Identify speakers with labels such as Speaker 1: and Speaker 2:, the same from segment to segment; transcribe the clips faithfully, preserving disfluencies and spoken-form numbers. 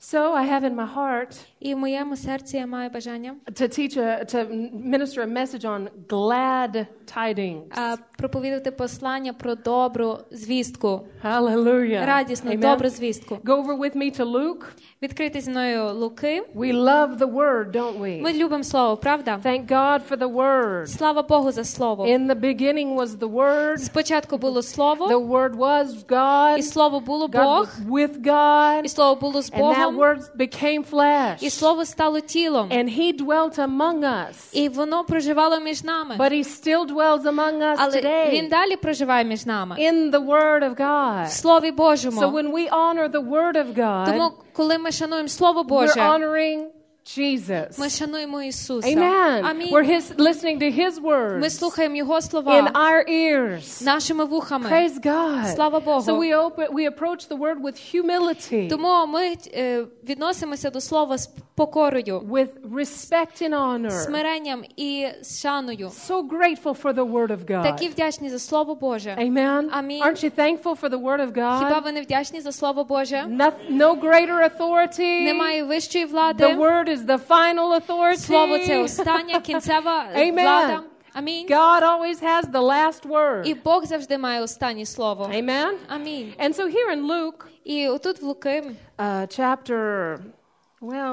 Speaker 1: So I have in my heart
Speaker 2: І в моєму серці я маю бажання
Speaker 1: to teach a, to minister a message on glad tidings.
Speaker 2: а, проповідати послання про добру звістку.
Speaker 1: Hallelujah.
Speaker 2: Радісну,
Speaker 1: Amen.
Speaker 2: добру звістку.
Speaker 1: Go over with me to Luke.
Speaker 2: Відкрити зі мною Луки.
Speaker 1: We love the word, don't we?
Speaker 2: Ми любимо слово, правда?
Speaker 1: Thank God for the word.
Speaker 2: Слава Богу за слово.
Speaker 1: In the beginning was the word.
Speaker 2: Спочатку було слово.
Speaker 1: The word was God.
Speaker 2: І слово було
Speaker 1: God
Speaker 2: Бог.
Speaker 1: was with God.
Speaker 2: І слово було з
Speaker 1: And that
Speaker 2: Богом.
Speaker 1: word became flesh.
Speaker 2: І слово стало тілом.
Speaker 1: And he dwelt among us.
Speaker 2: І воно проживало між нами.
Speaker 1: But he still dwells among us
Speaker 2: Але
Speaker 1: today.
Speaker 2: він далі проживає між нами.
Speaker 1: In the word of God.
Speaker 2: В Слові Божому.
Speaker 1: So when we honor the word of God,
Speaker 2: Тому, коли ми шануємо Слово
Speaker 1: we're
Speaker 2: Боже,
Speaker 1: honoring Jesus.
Speaker 2: ми шануємо Ісуса.
Speaker 1: Amen.
Speaker 2: Амінь.
Speaker 1: We're his, listening to his words
Speaker 2: Ми слухаємо Його
Speaker 1: in
Speaker 2: слова
Speaker 1: our ears.
Speaker 2: нашими вухами.
Speaker 1: Praise God.
Speaker 2: Слава Богу.
Speaker 1: So we open, we approach the word with humility,
Speaker 2: Тому ми е, відносимося до Слова з покорою,
Speaker 1: with respect and honor.
Speaker 2: смиренням і з шаною.
Speaker 1: So grateful for the word of God.
Speaker 2: Такі вдячні за Слово Боже.
Speaker 1: Amen.
Speaker 2: Амінь.
Speaker 1: Aren't you thankful for the word of
Speaker 2: Хіба
Speaker 1: God?
Speaker 2: ви не вдячні за Слово Боже?
Speaker 1: No, no greater authority.
Speaker 2: Немає вищої
Speaker 1: The
Speaker 2: влади.
Speaker 1: word is the final authority.
Speaker 2: Слово – це остання, кінцева
Speaker 1: Amen.
Speaker 2: влада. Амінь.
Speaker 1: God always has the last word.
Speaker 2: І Бог завжди має останнє слово.
Speaker 1: Amen.
Speaker 2: Амінь.
Speaker 1: And so here in Luke,
Speaker 2: І отут в Луки,
Speaker 1: uh, chapter, well,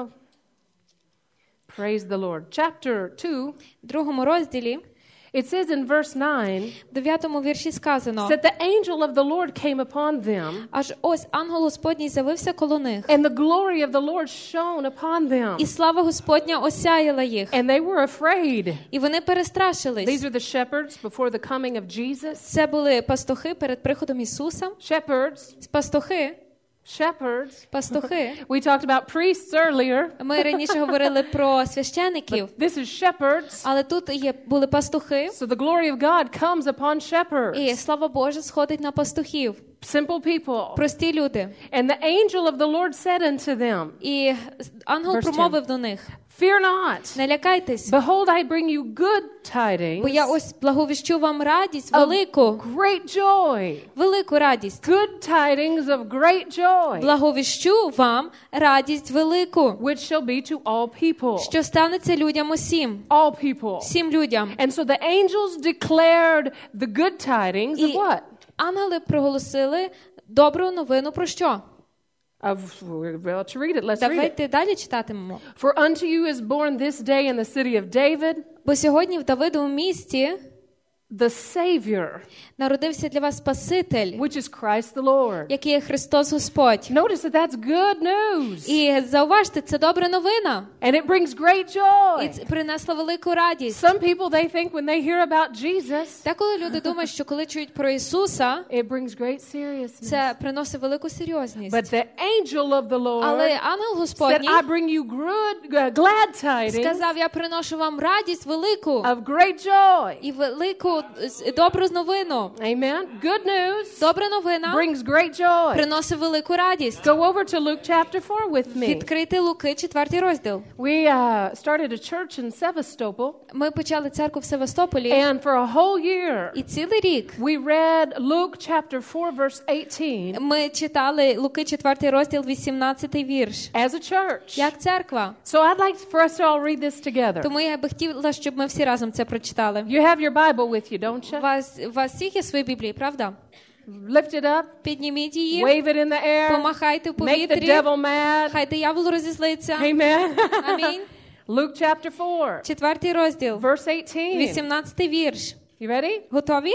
Speaker 1: praise the Lord, chapter two,
Speaker 2: в другому розділі,
Speaker 1: it says in verse nine,
Speaker 2: в дев'ятому вірші сказано,
Speaker 1: that the angel of the Lord came upon them,
Speaker 2: аж ось ангел Господній з'явився коло них,
Speaker 1: and the glory of the Lord shone upon them,
Speaker 2: і слава Господня осяяла їх,
Speaker 1: and they were afraid.
Speaker 2: і вони перестрашились.
Speaker 1: These are the shepherds before the coming of Jesus.
Speaker 2: Це були пастухи перед приходом Ісуса.
Speaker 1: Shepherds,
Speaker 2: Пастухи,
Speaker 1: shepherds.
Speaker 2: пастухи.
Speaker 1: We talked about priests earlier.
Speaker 2: Ми раніше говорили про священиків,
Speaker 1: This is shepherds.
Speaker 2: але тут є були пастухи,
Speaker 1: So the glory of God comes upon shepherds.
Speaker 2: і слава Божа сходить на пастухів.
Speaker 1: Simple people.
Speaker 2: Прості люди.
Speaker 1: And the angel of the Lord said unto them,
Speaker 2: І ангел
Speaker 1: Verse
Speaker 2: промовив до них:
Speaker 1: Fear not.
Speaker 2: не лякайтесь,
Speaker 1: Behold, I bring you good
Speaker 2: бо я
Speaker 1: tidings
Speaker 2: ось благовіщу вам радість
Speaker 1: of
Speaker 2: велику,
Speaker 1: great joy.
Speaker 2: велику радість.
Speaker 1: Good tidings of great joy,
Speaker 2: Благовіщу вам радість велику,
Speaker 1: which shall be to all people.
Speaker 2: що станеться людям усім,
Speaker 1: All people.
Speaker 2: всім людям.
Speaker 1: And so the angels declared the good tidings of
Speaker 2: І
Speaker 1: what?
Speaker 2: ангели проголосили добру новину про що?
Speaker 1: Of, we're about to read it. Let's read it.
Speaker 2: Давайте далі читатимемо.
Speaker 1: For unto you is born this day in the city of David
Speaker 2: Бо сьогодні в Давидовому місті
Speaker 1: the Savior,
Speaker 2: народився для вас Спаситель,
Speaker 1: which is Christ the Lord.
Speaker 2: який є Христос Господь.
Speaker 1: Notice that that's good news.
Speaker 2: І зауважте, це добра новина.
Speaker 1: And it brings great
Speaker 2: І
Speaker 1: joy.
Speaker 2: це принесла велику радість.
Speaker 1: Some people, they think when they hear about Jesus,
Speaker 2: Та коли люди думають, що коли чують про Ісуса,
Speaker 1: it brings great seriousness.
Speaker 2: це приносить велику серйозність.
Speaker 1: But the angel of the Lord
Speaker 2: Але ангел
Speaker 1: said,
Speaker 2: Господній
Speaker 1: I bring you good, uh, glad tidings
Speaker 2: сказав: я приношу вам радість велику
Speaker 1: of great joy.
Speaker 2: і велику з- добру новину.
Speaker 1: Amen. Good news
Speaker 2: Добра новина
Speaker 1: brings great joy.
Speaker 2: приносить велику радість.
Speaker 1: Go over to Luke chapter four with me.
Speaker 2: Відкрити Луки, четвертий розділ.
Speaker 1: We uh, started a church in Sevastopol,
Speaker 2: Ми почали церкву в Севастополі,
Speaker 1: and for a whole year,
Speaker 2: і цілий рік
Speaker 1: we read Luke chapter four, verse eighteen,
Speaker 2: ми читали Луки, четвертий розділ, вісімнадцятий вірш.
Speaker 1: as a church.
Speaker 2: Як церква.
Speaker 1: So I'd like for us to all read this together.
Speaker 2: Тому я би хотіла, щоб ми всі разом це прочитали.
Speaker 1: You have your Bible with you, don't
Speaker 2: У
Speaker 1: you?
Speaker 2: вас, у вас всіх є свої Біблії, правда?
Speaker 1: Lift it up,
Speaker 2: Підніміть її,
Speaker 1: wave it in the air,
Speaker 2: помахайте в
Speaker 1: make the
Speaker 2: повітрі,
Speaker 1: devil mad.
Speaker 2: хай диявол розізлиться.
Speaker 1: Amen.
Speaker 2: Амінь.
Speaker 1: Luke chapter four,
Speaker 2: Четвертий розділ,
Speaker 1: verse eighteen.
Speaker 2: вісімнадцятий вірш.
Speaker 1: You ready?
Speaker 2: Готові?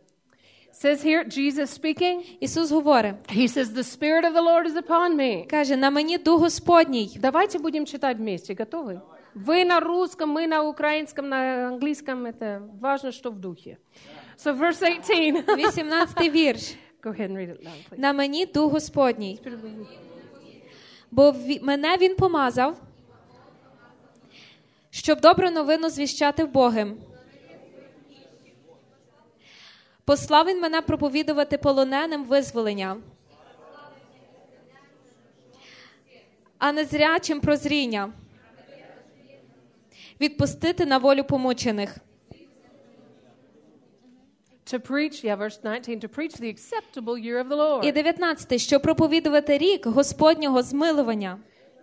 Speaker 1: Says here, Jesus speaking.
Speaker 2: Ісус говорить,
Speaker 1: He says, the Spirit of the Lord is upon me.
Speaker 2: каже: на мені Дух Господній.
Speaker 1: Давайте будем читать вместе. Готовы? Вы на русском, мы на украинском, на английском. Это важно, что в духе. So verse eighteen.
Speaker 2: вісімнадцятий вірш.
Speaker 1: Go ahead and read it loud, please.
Speaker 2: На мені Дух Господній. Бо ві- мене Він помазав, щоб добру новину звіщати вбогим. Послав Він мене проповідувати полоненим визволення, а незрячим прозріння, відпустити на волю помучених.
Speaker 1: To preach, yeah, verse nineteen, to preach the acceptable year of the Lord.
Speaker 2: І дев'ятнадцятий, щоб проповідувати рік Господнього змилування.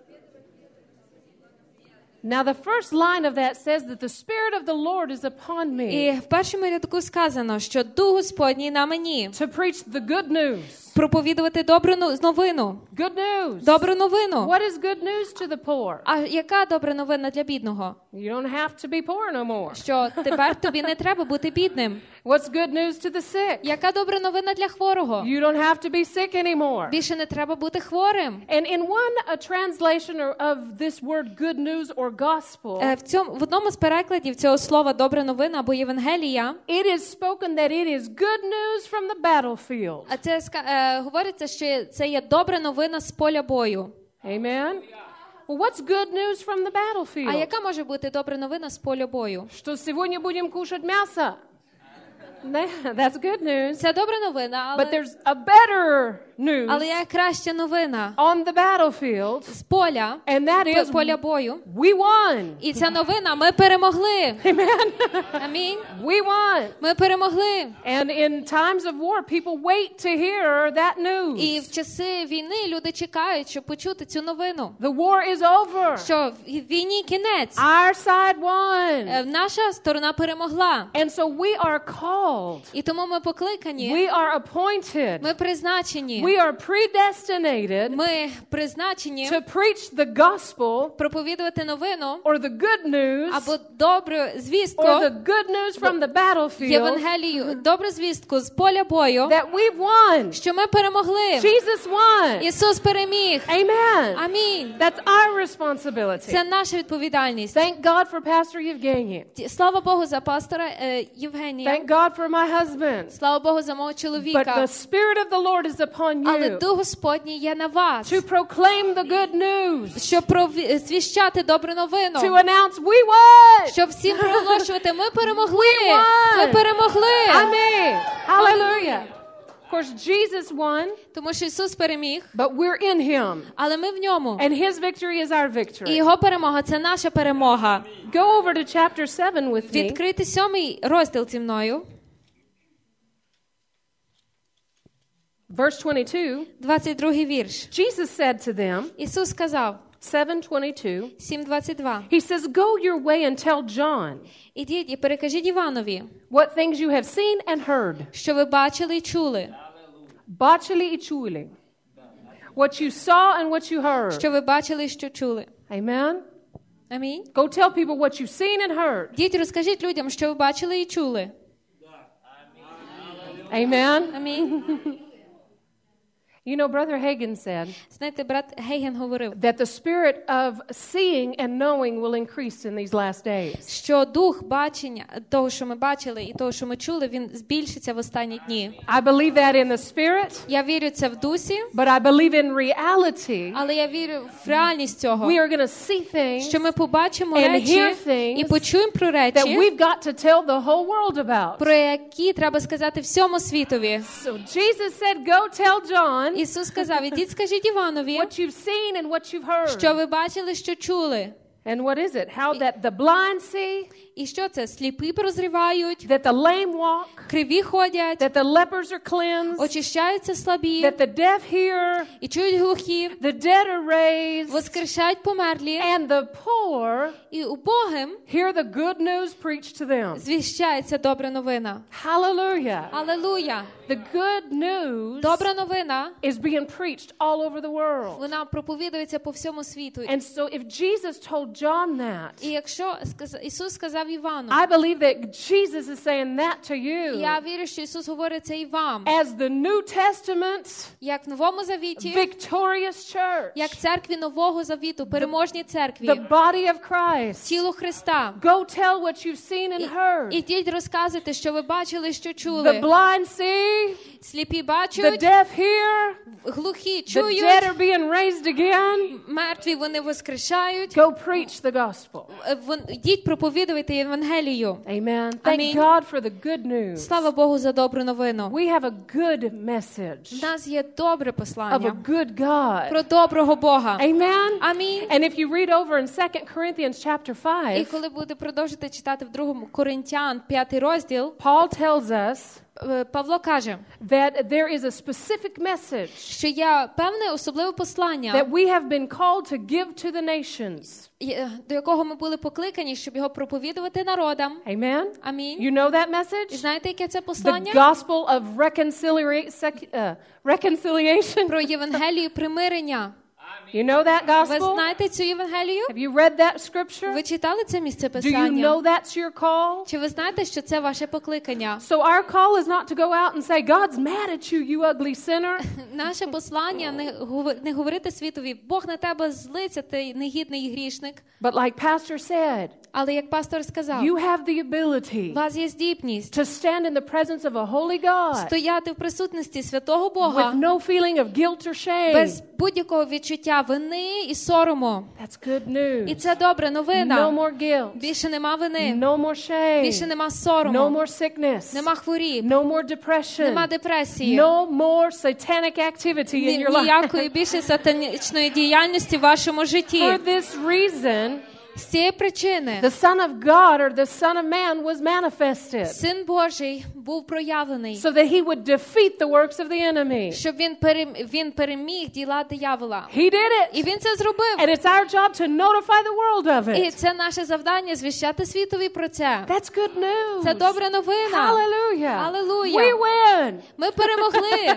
Speaker 1: Now the first line of that says that the Spirit of the Lord is upon me.
Speaker 2: І в першому рядку сказано, що Дух Господній на мені.
Speaker 1: To preach the good news.
Speaker 2: Проповідувати добру новину.
Speaker 1: Good news.
Speaker 2: Добру новину.
Speaker 1: What is good news to the poor?
Speaker 2: А яка добра новина для бідного?
Speaker 1: You don't have to be poor no more.
Speaker 2: Що тепер тобі не треба бути бідним.
Speaker 1: What's good news to the sick?
Speaker 2: Яка добра новина для хворого?
Speaker 1: You don't have to be sick anymore.
Speaker 2: Більше не треба бути хворим.
Speaker 1: And in one a translation of this word good news or gospel,
Speaker 2: В цьому в одному з перекладів цього слова добра новина або Євангелія,
Speaker 1: it is spoken that it is good news from the battlefield.
Speaker 2: а це е, говориться, що це є добра новина з поля бою.
Speaker 1: Amen. Well, what's good news from the battlefield?
Speaker 2: А яка може бути добра новина з поля бою?
Speaker 1: Что сегодня будем кушать мясо. That's good news.
Speaker 2: Це добра новина,
Speaker 1: But
Speaker 2: але,
Speaker 1: there's a better news
Speaker 2: але є краща новина
Speaker 1: on the battlefield,
Speaker 2: з поля,
Speaker 1: and that
Speaker 2: по-
Speaker 1: is
Speaker 2: поля бою.
Speaker 1: we won.
Speaker 2: І ця новина, ми перемогли.
Speaker 1: Amen.
Speaker 2: Амінь.
Speaker 1: We won.
Speaker 2: Ми перемогли.
Speaker 1: And in times of war, people wait to hear that news.
Speaker 2: І в часи війни люди чекають, щоб почути цю новину.
Speaker 1: The war is over.
Speaker 2: Що в війні кінець.
Speaker 1: Our side won.
Speaker 2: Е, Наша сторона перемогла.
Speaker 1: And so we are called.
Speaker 2: І тому ми покликані,
Speaker 1: We are appointed.
Speaker 2: ми призначені,
Speaker 1: We are predestinated
Speaker 2: ми призначені
Speaker 1: to preach the gospel
Speaker 2: проповідувати новину
Speaker 1: or the good news
Speaker 2: або добру звістку,
Speaker 1: or the good news from the battlefield
Speaker 2: Євангелію, добру звістку з поля бою,
Speaker 1: that we won.
Speaker 2: що ми перемогли.
Speaker 1: Jesus won.
Speaker 2: Ісус переміг.
Speaker 1: Amen.
Speaker 2: Амінь.
Speaker 1: That's our responsibility.
Speaker 2: Це наша відповідальність.
Speaker 1: Thank God for Pastor Evgeny.
Speaker 2: Слава Богу за пастора е, Євгенія.
Speaker 1: Thank God for my husband.
Speaker 2: Слава Богу за мого
Speaker 1: But
Speaker 2: чоловіка.
Speaker 1: the Spirit of the Lord is upon
Speaker 2: Але
Speaker 1: you
Speaker 2: Дух Господній є на вас,
Speaker 1: to proclaim the good news,
Speaker 2: щоб прові- звіщати добру новину,
Speaker 1: to announce we won.
Speaker 2: щоб всім проголошувати, ми перемогли,
Speaker 1: won.
Speaker 2: ми перемогли.
Speaker 1: Amen. Hallelujah. Of course, Jesus won,
Speaker 2: Тому що Ісус переміг,
Speaker 1: but we're in Him.
Speaker 2: але ми в ньому.
Speaker 1: And His victory is our
Speaker 2: І
Speaker 1: victory.
Speaker 2: Його перемога – це наша перемога.
Speaker 1: Go over to chapter seven with me.
Speaker 2: Відкрити сьомий розділ зі мною.
Speaker 1: Verse twenty-two.
Speaker 2: двадцять другий вірш.
Speaker 1: Jesus said to them,
Speaker 2: Ісус сказав,
Speaker 1: seven twenty-two,
Speaker 2: сім двадцять два.
Speaker 1: He says, Go your way and tell John
Speaker 2: Ідіть і перекажіть Іванові,
Speaker 1: what things you have seen and heard.
Speaker 2: що ви бачили і чули.
Speaker 1: Бачили і чули. What you saw and what you heard.
Speaker 2: Що ви бачили і що чули.
Speaker 1: Amen.
Speaker 2: Амінь.
Speaker 1: Go tell people what you've seen and heard.
Speaker 2: Ідіть, розкажіть людям, що ви бачили і чули.
Speaker 1: Amen.
Speaker 2: Амінь.
Speaker 1: You know, Brother Hagin said
Speaker 2: Знаєте, брат Гейген говорив,
Speaker 1: that the spirit of seeing and knowing will increase in these last days.
Speaker 2: що дух бачення, того, що ми бачили і того, що ми чули, він збільшиться в останні дні.
Speaker 1: I believe that in the spirit,
Speaker 2: Я вірю це в дусі,
Speaker 1: but I believe in reality.
Speaker 2: але я вірю в реальність цього,
Speaker 1: We are going to see things
Speaker 2: що ми побачимо
Speaker 1: and
Speaker 2: речі
Speaker 1: hear things
Speaker 2: і почуємо про
Speaker 1: that
Speaker 2: речі,
Speaker 1: we've got to tell the whole world about.
Speaker 2: про які треба сказати всьому світові.
Speaker 1: So Jesus said, go tell John
Speaker 2: Ісус сказав, ідіть скажіть Іванові,
Speaker 1: what you've seen and what you've heard.
Speaker 2: що ви бачили, що чули.
Speaker 1: And what is it? How that the blind see,
Speaker 2: І що це? Сліпі прозрівають,
Speaker 1: that the lame walk,
Speaker 2: криві ходять,
Speaker 1: that the lepers are cleansed,
Speaker 2: очищаються слабі,
Speaker 1: that the deaf hear,
Speaker 2: і чують глухі,
Speaker 1: the dead are raised,
Speaker 2: воскрешають померлі,
Speaker 1: and the poor
Speaker 2: і убогим
Speaker 1: hear the good news preached to them.
Speaker 2: звіщається добра новина.
Speaker 1: Hallelujah.
Speaker 2: Алелуя!
Speaker 1: The good news
Speaker 2: Добра новина,
Speaker 1: is being preached all over the world.
Speaker 2: вона проповідується по всьому світу.
Speaker 1: And so if Jesus told John that,
Speaker 2: І якщо сказ- Ісус сказав Івану,
Speaker 1: I believe that Jesus is saying that to you
Speaker 2: я вірю, що Ісус говорить це і вам,
Speaker 1: as the New Testament
Speaker 2: як в Новому Завіті,
Speaker 1: victorious church,
Speaker 2: як церкві Нового Завіту, переможній церкві,
Speaker 1: the body of Christ.
Speaker 2: тіло Христа.
Speaker 1: Go tell what you've seen and heard.
Speaker 2: Ідіть розказуйте, що ви бачили, що
Speaker 1: The
Speaker 2: чули.
Speaker 1: blind see,
Speaker 2: Сліпі
Speaker 1: the
Speaker 2: бачать,
Speaker 1: deaf hear,
Speaker 2: глухі
Speaker 1: the
Speaker 2: чують,
Speaker 1: dead are being raised again.
Speaker 2: мертві вони воскрешають.
Speaker 1: Go preach the gospel.
Speaker 2: Е, вон- Ідіть проповідуйте Євангелію.
Speaker 1: Amen. Thank
Speaker 2: Амінь.
Speaker 1: God for the good news.
Speaker 2: Слава Богу за добру новину.
Speaker 1: We have a good
Speaker 2: В
Speaker 1: message
Speaker 2: нас є добре
Speaker 1: of a
Speaker 2: послання
Speaker 1: good God.
Speaker 2: про доброго Бога.
Speaker 1: Amen.
Speaker 2: Амінь.
Speaker 1: And if you read over in Second Corinthians chapter
Speaker 2: І
Speaker 1: five,
Speaker 2: коли буде продовжити читати в другому Коринтян, п'ятий розділ,
Speaker 1: Paul tells us
Speaker 2: Е, Павло каже,
Speaker 1: that there is a specific message
Speaker 2: що є певне особливе послання,
Speaker 1: that we have been called to give to the nations.
Speaker 2: і, е, до якого ми були покликані, щоб його проповідувати народам.
Speaker 1: Amen?
Speaker 2: Амінь.
Speaker 1: You know that
Speaker 2: І
Speaker 1: message?
Speaker 2: знаєте, яке це
Speaker 1: The
Speaker 2: послання?
Speaker 1: gospel of reconcilia- sec- uh, reconciliation.
Speaker 2: Про Євангелію примирення.
Speaker 1: You know that
Speaker 2: Ви
Speaker 1: gospel?
Speaker 2: знаєте цю Євангелію?
Speaker 1: Have you read that scripture?
Speaker 2: Ви читали це місце
Speaker 1: Do you
Speaker 2: писання?
Speaker 1: know that's your call?
Speaker 2: Чи ви знаєте, що це ваше покликання?
Speaker 1: So our call is not to go out and say, God's mad at you, you ugly sinner.
Speaker 2: Наше послання не, гов- не говорити світові, Бог на тебе злиться, ти негідний і грішник.
Speaker 1: But like Pastor said,
Speaker 2: Але як пастор сказав,
Speaker 1: you have the ability
Speaker 2: у вас є здібність
Speaker 1: to stand in the presence of a holy God
Speaker 2: стояти в присутності святого
Speaker 1: with
Speaker 2: Бога
Speaker 1: no feeling of guilt or shame.
Speaker 2: без будь-якого відчуття вини і сорому.
Speaker 1: That's good
Speaker 2: І
Speaker 1: news.
Speaker 2: це добра
Speaker 1: No
Speaker 2: новина.
Speaker 1: more guilt.
Speaker 2: Більше нема вини,
Speaker 1: No more shame.
Speaker 2: більше нема
Speaker 1: No
Speaker 2: сорому,
Speaker 1: more sickness.
Speaker 2: нема хворіб,
Speaker 1: No more depression.
Speaker 2: нема депресії,
Speaker 1: No more satanic activity in
Speaker 2: ні-
Speaker 1: your life.
Speaker 2: ніякої більше сатанічної діяльності в вашому житті.
Speaker 1: For this reason,
Speaker 2: З цієї причини
Speaker 1: the Son of God or the Son of Man was manifested
Speaker 2: Син Божий був проявлений,
Speaker 1: so that he would defeat the works of the enemy.
Speaker 2: щоб він, перем... він переміг діла диявола.
Speaker 1: He did
Speaker 2: І
Speaker 1: it.
Speaker 2: він це зробив.
Speaker 1: And it's our job to notify the world of
Speaker 2: І
Speaker 1: it.
Speaker 2: це наше завдання звіщати світові про це.
Speaker 1: That's good news.
Speaker 2: Це добра новина.
Speaker 1: Hallelujah.
Speaker 2: Hallelujah.
Speaker 1: We win.
Speaker 2: Ми перемогли.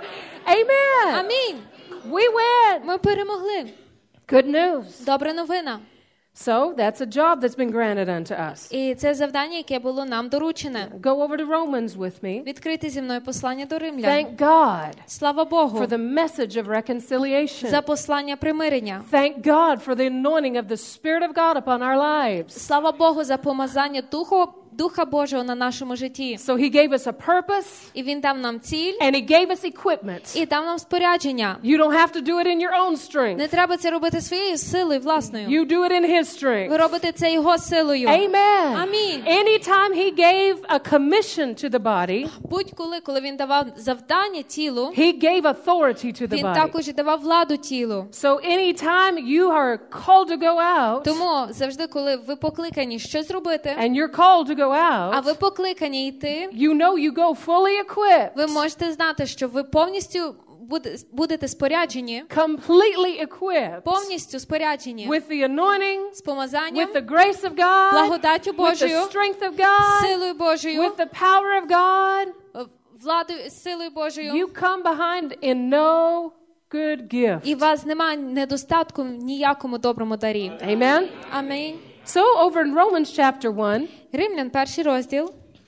Speaker 1: Amen.
Speaker 2: Амінь.
Speaker 1: We win.
Speaker 2: Ми перемогли.
Speaker 1: Good news.
Speaker 2: Добра новина.
Speaker 1: So that's a job that's been granted unto us.
Speaker 2: І це завдання, яке було нам доручене.
Speaker 1: Go over to Romans with me.
Speaker 2: Відкрити зі мною послання до римлян.
Speaker 1: Thank God
Speaker 2: Слава Богу
Speaker 1: for the message of reconciliation.
Speaker 2: за послання примирення.
Speaker 1: Thank God for the anointing of the Spirit of God upon our lives.
Speaker 2: Слава Богу за помазання Духу, Духа Божого на нашому житті.
Speaker 1: So he gave us a purpose
Speaker 2: І Він дав нам ціль,
Speaker 1: and he gave us equipment.
Speaker 2: і дав нам спорядження.
Speaker 1: You don't have to do it in your own strength.
Speaker 2: Не треба це робити своєю силою власною.
Speaker 1: You do it in his
Speaker 2: Ви
Speaker 1: strength.
Speaker 2: робите це Його силою.
Speaker 1: Amen.
Speaker 2: Амінь.
Speaker 1: Anytime he gave a commission to the body,
Speaker 2: Будь-коли, коли Він давав завдання тілу,
Speaker 1: he gave authority to the
Speaker 2: Він
Speaker 1: body.
Speaker 2: також і давав владу тілу.
Speaker 1: So anytime you are called to go out
Speaker 2: Тому завжди, коли ви покликані щось робити,
Speaker 1: and you're called to go
Speaker 2: а
Speaker 1: out,
Speaker 2: ви покликані йти,
Speaker 1: you know you go fully equipped,
Speaker 2: ви можете знати, що ви повністю буде- будете споряджені,
Speaker 1: completely equipped
Speaker 2: повністю споряджені
Speaker 1: with the anointing,
Speaker 2: з помазанням,
Speaker 1: with the grace of God,
Speaker 2: благодаттю
Speaker 1: with the
Speaker 2: Божою,
Speaker 1: strength of God,
Speaker 2: силою Божою,
Speaker 1: with the power of God.
Speaker 2: владою, силою Божою.
Speaker 1: You come behind in no good gift.
Speaker 2: І у вас немає недостатку в ніякому доброму дарі.
Speaker 1: Amen.
Speaker 2: Амінь.
Speaker 1: So over in Romans chapter one,
Speaker 2: Римлян, перший розділ.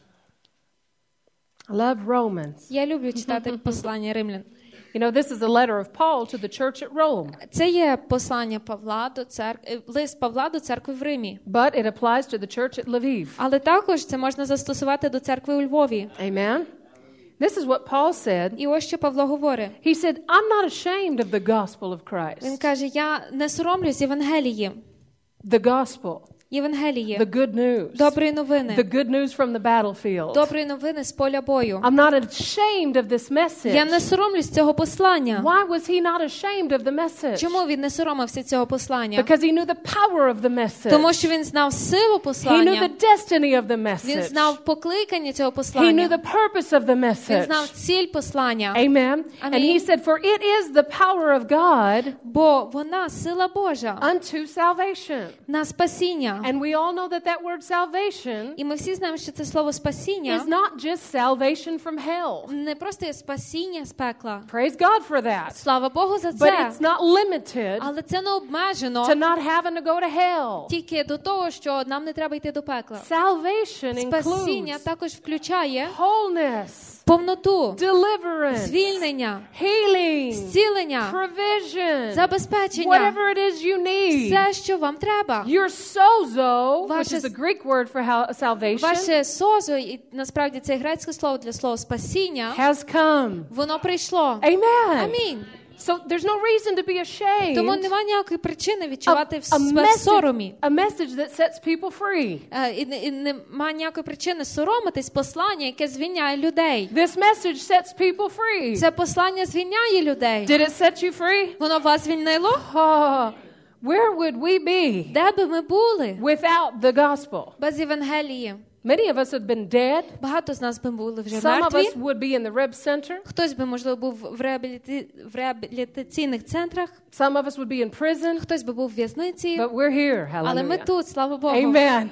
Speaker 1: I love Romans.
Speaker 2: Я люблю читати послання Римлян.
Speaker 1: You know, this is a letter of Paul to the church at Rome,
Speaker 2: Це є послання Павла до церкви, лист Павла до церкви в Римі.
Speaker 1: but it applies to the church at Lviv.
Speaker 2: Але також це можна застосувати до церкви у Львові.
Speaker 1: Amen. This is what Paul said.
Speaker 2: І ось що Павло говорить.
Speaker 1: He said, I'm not ashamed of the gospel of
Speaker 2: Він
Speaker 1: Christ.
Speaker 2: каже, я не соромлюсь Євангелії.
Speaker 1: The gospel,
Speaker 2: Євангелії.
Speaker 1: the good news,
Speaker 2: Доброї новини.
Speaker 1: the good news from the battlefield.
Speaker 2: Доброї новини з поля бою.
Speaker 1: I'm not ashamed of this message.
Speaker 2: Я не соромлюсь цього послання.
Speaker 1: Why was he not ashamed of the message?
Speaker 2: Чому він не соромився цього послання?
Speaker 1: Because he knew the power of the message.
Speaker 2: Тому що він знав силу
Speaker 1: He knew
Speaker 2: послання.
Speaker 1: the destiny of the
Speaker 2: Він
Speaker 1: message.
Speaker 2: знав покликання цього
Speaker 1: He knew
Speaker 2: послання.
Speaker 1: the purpose of the
Speaker 2: Він
Speaker 1: message.
Speaker 2: знав ціль послання.
Speaker 1: Amen. And he
Speaker 2: Амінь.
Speaker 1: said, for it is the power of God
Speaker 2: Бо вона сила Божа
Speaker 1: unto salvation.
Speaker 2: на спасіння.
Speaker 1: And we all know that that word salvation
Speaker 2: І ми всі знаємо, що це слово спасіння
Speaker 1: is not just salvation from hell.
Speaker 2: не просто є спасіння з пекла.
Speaker 1: Praise God for that.
Speaker 2: Слава Богу за
Speaker 1: But
Speaker 2: це.
Speaker 1: it's not limited
Speaker 2: Але це не обмежено
Speaker 1: to not having to go to hell.
Speaker 2: тільки до того, що нам не треба йти до пекла.
Speaker 1: Salvation
Speaker 2: Спасіння
Speaker 1: includes
Speaker 2: також включає
Speaker 1: wholeness,
Speaker 2: повноту,
Speaker 1: deliverance,
Speaker 2: звільнення,
Speaker 1: healing,
Speaker 2: зцілення,
Speaker 1: provision,
Speaker 2: забезпечення.
Speaker 1: whatever it is you need.
Speaker 2: Все, що вам треба.
Speaker 1: Your sozo, which
Speaker 2: Ваше-
Speaker 1: is the Greek word for hal- salvation,
Speaker 2: Ваше созо, і насправді це грецьке слово для слова спасіння,
Speaker 1: has come.
Speaker 2: воно прийшло.
Speaker 1: Amen.
Speaker 2: Амінь.
Speaker 1: So there's no reason to be ashamed
Speaker 2: Тому немає ніякої причини відчувати
Speaker 1: of
Speaker 2: в
Speaker 1: a
Speaker 2: себе
Speaker 1: message,
Speaker 2: соромі.
Speaker 1: a message that sets people free.
Speaker 2: Е, І, не- і немає ніякої причини соромитись послання, яке звільняє людей.
Speaker 1: This message sets people free.
Speaker 2: Це послання звільняє людей.
Speaker 1: Did it set you free?
Speaker 2: Воно вас звільнило?
Speaker 1: Oh, where would we be
Speaker 2: Де би ми були
Speaker 1: without the gospel?
Speaker 2: без Євангелії?
Speaker 1: Many of us have been dead.
Speaker 2: Багато з нас би були вже
Speaker 1: Some of
Speaker 2: мертві.
Speaker 1: us would be in the rehab center.
Speaker 2: Хтось би, можливо, був в, реабіліті... в реабілітаційних центрах.
Speaker 1: Some of us would be in prison.
Speaker 2: Хтось би був в в'язниці.
Speaker 1: But we're here.
Speaker 2: Але ми
Speaker 1: Hallelujah.
Speaker 2: тут, слава Богу.
Speaker 1: Amen.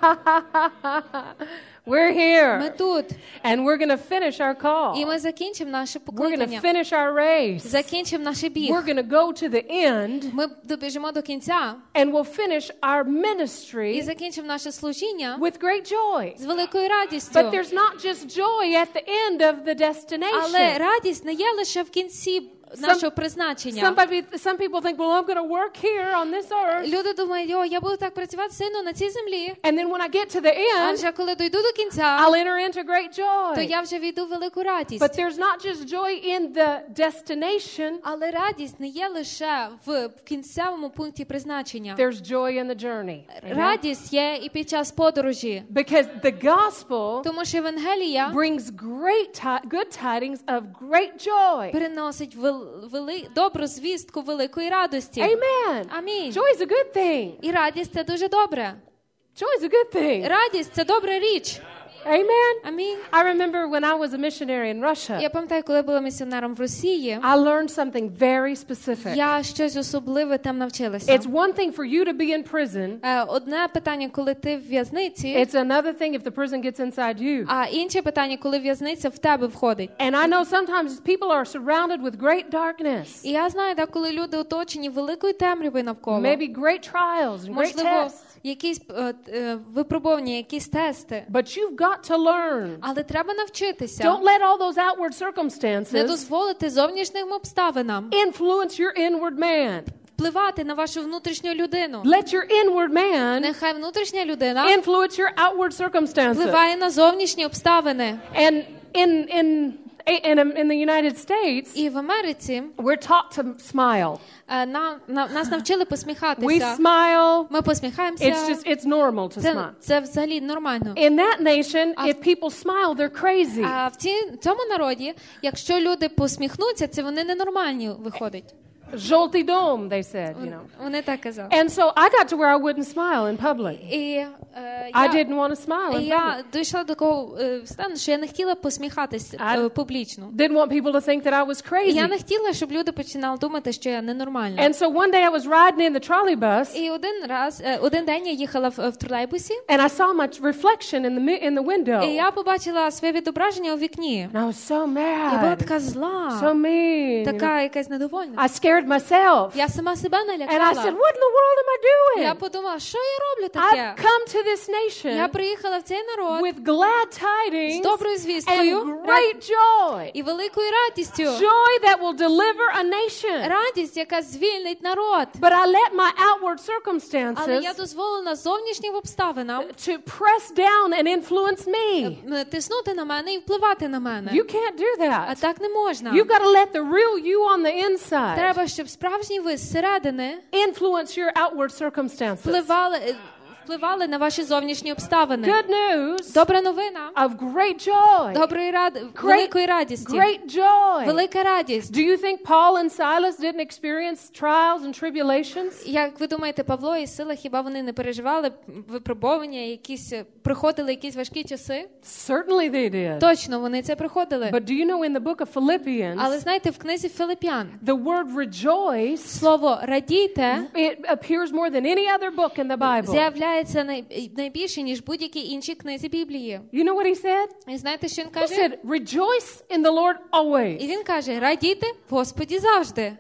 Speaker 1: We're here.
Speaker 2: Ми тут.
Speaker 1: And we're going to finish our call.
Speaker 2: І ми закінчимо наше
Speaker 1: We're going to
Speaker 2: покликання.
Speaker 1: finish our race.
Speaker 2: Закінчимо наш біг.
Speaker 1: We're going to go to the end.
Speaker 2: Ми добіжимо до кінця
Speaker 1: And we'll finish our
Speaker 2: і
Speaker 1: ministry
Speaker 2: закінчимо наше служіння
Speaker 1: with great joy.
Speaker 2: з великою радістю.
Speaker 1: But there's not just joy at the end of the destination.
Speaker 2: Але радість не є лише в кінці нашого призначення.
Speaker 1: Some, some people think, well, I'm going to work here on this earth.
Speaker 2: Люди думають, о, я буду так працювати сильно на цій землі.
Speaker 1: And then when I get to the
Speaker 2: А
Speaker 1: end,
Speaker 2: вже коли дійду до кінця,
Speaker 1: I'll enter into great
Speaker 2: то
Speaker 1: joy.
Speaker 2: я вже війду в велику радість.
Speaker 1: But there's not just joy in the destination.
Speaker 2: Але радість не є лише в в кінцевому пункті призначення.
Speaker 1: There's joy in the journey. Amen?
Speaker 2: Радість є і під час подорожі.
Speaker 1: Because the gospel
Speaker 2: Тому що Євангелія
Speaker 1: brings great ti- good tidings of great joy.
Speaker 2: переносить вел, вели, добру звістку великої радості.
Speaker 1: Amen.
Speaker 2: Амінь.
Speaker 1: Joy is a good thing.
Speaker 2: І радість – це дуже добре.
Speaker 1: Joy is a good thing.
Speaker 2: Радість – це добра річ.
Speaker 1: Amen.
Speaker 2: Амінь.
Speaker 1: I remember when I was a missionary in Russia,
Speaker 2: Я пам'ятаю, коли була місіонером в Росії,
Speaker 1: I learned something very specific.
Speaker 2: я щось особливе там навчилася.
Speaker 1: It's one thing for you to be in prison.
Speaker 2: Е, Одне питання, коли ти в в'язниці,
Speaker 1: It's another thing if the prison gets inside you.
Speaker 2: а інше питання, коли в'язниця в тебе входить.
Speaker 1: And I know sometimes people are surrounded with great darkness,
Speaker 2: І я знаю, так, коли люди оточені великою темрявою навколо,
Speaker 1: maybe great trials and great
Speaker 2: можливо,
Speaker 1: tests,
Speaker 2: якісь е, е, випробування, якісь тести.
Speaker 1: but you've got to learn.
Speaker 2: Але треба навчитися.
Speaker 1: Don't let all those outward
Speaker 2: Не
Speaker 1: circumstances
Speaker 2: дозволити зовнішнім обставинам
Speaker 1: influence your inward man.
Speaker 2: впливати на вашу внутрішню людину.
Speaker 1: Let your inward man
Speaker 2: Нехай внутрішня людина
Speaker 1: influence your outward circumstances.
Speaker 2: впливає на зовнішні обставини.
Speaker 1: And in in in, in the United States,
Speaker 2: І в Америці
Speaker 1: we're taught to smile.
Speaker 2: е, на, на, нас навчили
Speaker 1: We
Speaker 2: посміхатися.
Speaker 1: smile.
Speaker 2: Ми посміхаємося.
Speaker 1: It's just it's normal to
Speaker 2: Це,
Speaker 1: smile.
Speaker 2: це взагалі нормально.
Speaker 1: In that nation,
Speaker 2: А-
Speaker 1: if people smile, they're crazy.
Speaker 2: А в ці, цьому народі, якщо люди посміхнуться, це вони ненормальні виходять.
Speaker 1: Жовтий дом, they said, you know.
Speaker 2: Вони так казали.
Speaker 1: And so I got to where I wouldn't smile in public.
Speaker 2: І е,
Speaker 1: I
Speaker 2: я,
Speaker 1: didn't want to smile in public.
Speaker 2: я дійшла до такого е, стану, що я не хотіла посміхатись
Speaker 1: I-
Speaker 2: е, публічно.
Speaker 1: Didn't want people to think that I was
Speaker 2: І
Speaker 1: crazy.
Speaker 2: я не хотіла, щоб люди починали думати, що я ненормальна.
Speaker 1: And so one day I was riding in the trolley bus,
Speaker 2: І один раз, е, один день я їхала в, в тролейбусі,
Speaker 1: and I saw my reflection in the mi- in the window.
Speaker 2: і я побачила своє відображення у вікні.
Speaker 1: And I was so
Speaker 2: Я була
Speaker 1: mad,
Speaker 2: така зла,
Speaker 1: so mean. you know.
Speaker 2: така якась недовольна.
Speaker 1: I scared myself.
Speaker 2: Я сама себе
Speaker 1: And I said,
Speaker 2: налякала.
Speaker 1: what in the world am I
Speaker 2: Я
Speaker 1: doing?
Speaker 2: подумала, що я роблю
Speaker 1: I've
Speaker 2: таке?
Speaker 1: come to this
Speaker 2: Я
Speaker 1: nation
Speaker 2: приїхала в цей народ
Speaker 1: with glad
Speaker 2: з
Speaker 1: tidings
Speaker 2: доброю звісткою
Speaker 1: and great joy.
Speaker 2: і великою радістю.
Speaker 1: Joy that will deliver a nation.
Speaker 2: Радість, яка звільнить народ.
Speaker 1: But I let my outward
Speaker 2: Але я
Speaker 1: circumstances
Speaker 2: дозволила зовнішнім обставинам
Speaker 1: to press down and influence me.
Speaker 2: е, тиснути на мене і впливати на мене.
Speaker 1: You can't do
Speaker 2: А
Speaker 1: that.
Speaker 2: так не можна.
Speaker 1: You've got to let the real you on the inside
Speaker 2: Треба, щоб справжній ви зсередини
Speaker 1: influence your outward circumstances.
Speaker 2: впливали, е, впливали на ваші зовнішні обставини.
Speaker 1: Good news
Speaker 2: Добра новина.
Speaker 1: of great joy.
Speaker 2: Доброї ради, великої радісті.
Speaker 1: Great joy.
Speaker 2: Велика радість.
Speaker 1: Do you think Paul and Silas didn't experience trials and tribulations?
Speaker 2: Як ви думаєте, Павло і Сила, хіба вони не переживали випробування, якісь проходили якісь важкі часи?
Speaker 1: Certainly they did.
Speaker 2: Точно, вони це проходили.
Speaker 1: But do you know in the book of Philippians,
Speaker 2: Але знаєте, в книзі Филип'ян
Speaker 1: the word rejoice,
Speaker 2: слово радійте
Speaker 1: it appears more than any other book in the Bible.
Speaker 2: з'являється най- найбільше, ніж будь-які інші книзі Біблії.
Speaker 1: You know what he said?
Speaker 2: І знаєте, що він
Speaker 1: He
Speaker 2: каже?
Speaker 1: said, rejoice in the Lord
Speaker 2: І
Speaker 1: always.
Speaker 2: він каже, радійте в Господі завжди.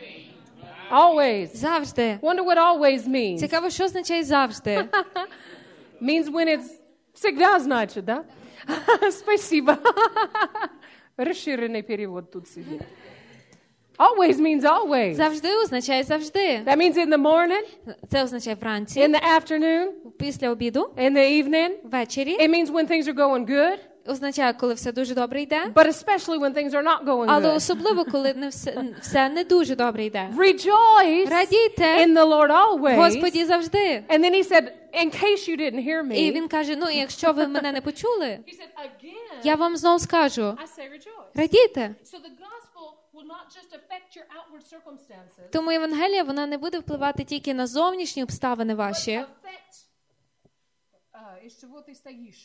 Speaker 1: Always.
Speaker 2: Завжди.
Speaker 1: Wonder what always means.
Speaker 2: Цікаво, що означає завжди.
Speaker 1: Means when it's всегда значит, да? Спасибо. Расширенный перевод тут сидит. Always means always.
Speaker 2: Завжди означає завжди.
Speaker 1: That means in the morning,
Speaker 2: Це означає вранці,
Speaker 1: in the afternoon,
Speaker 2: після обіду,
Speaker 1: in the evening.
Speaker 2: ввечері.
Speaker 1: It means when things are going good,
Speaker 2: Означає, коли все дуже добре йде.
Speaker 1: but especially when things are not going
Speaker 2: Але
Speaker 1: good.
Speaker 2: особливо, коли не все, все не дуже добре йде.
Speaker 1: Rejoice
Speaker 2: Радійте
Speaker 1: in the Lord always.
Speaker 2: Господі завжди.
Speaker 1: And then he said, in case you didn't hear me,
Speaker 2: І він каже, ну, якщо ви мене не почули,
Speaker 1: he said, again,
Speaker 2: я вам знову скажу,
Speaker 1: I say rejoice.
Speaker 2: радійте.
Speaker 1: So the gospel will not just affect your outward circumstances,
Speaker 2: Тому Євангелія, вона не буде впливати тільки на зовнішні обставини ваші,
Speaker 1: affect uh, из чего ты стоишь.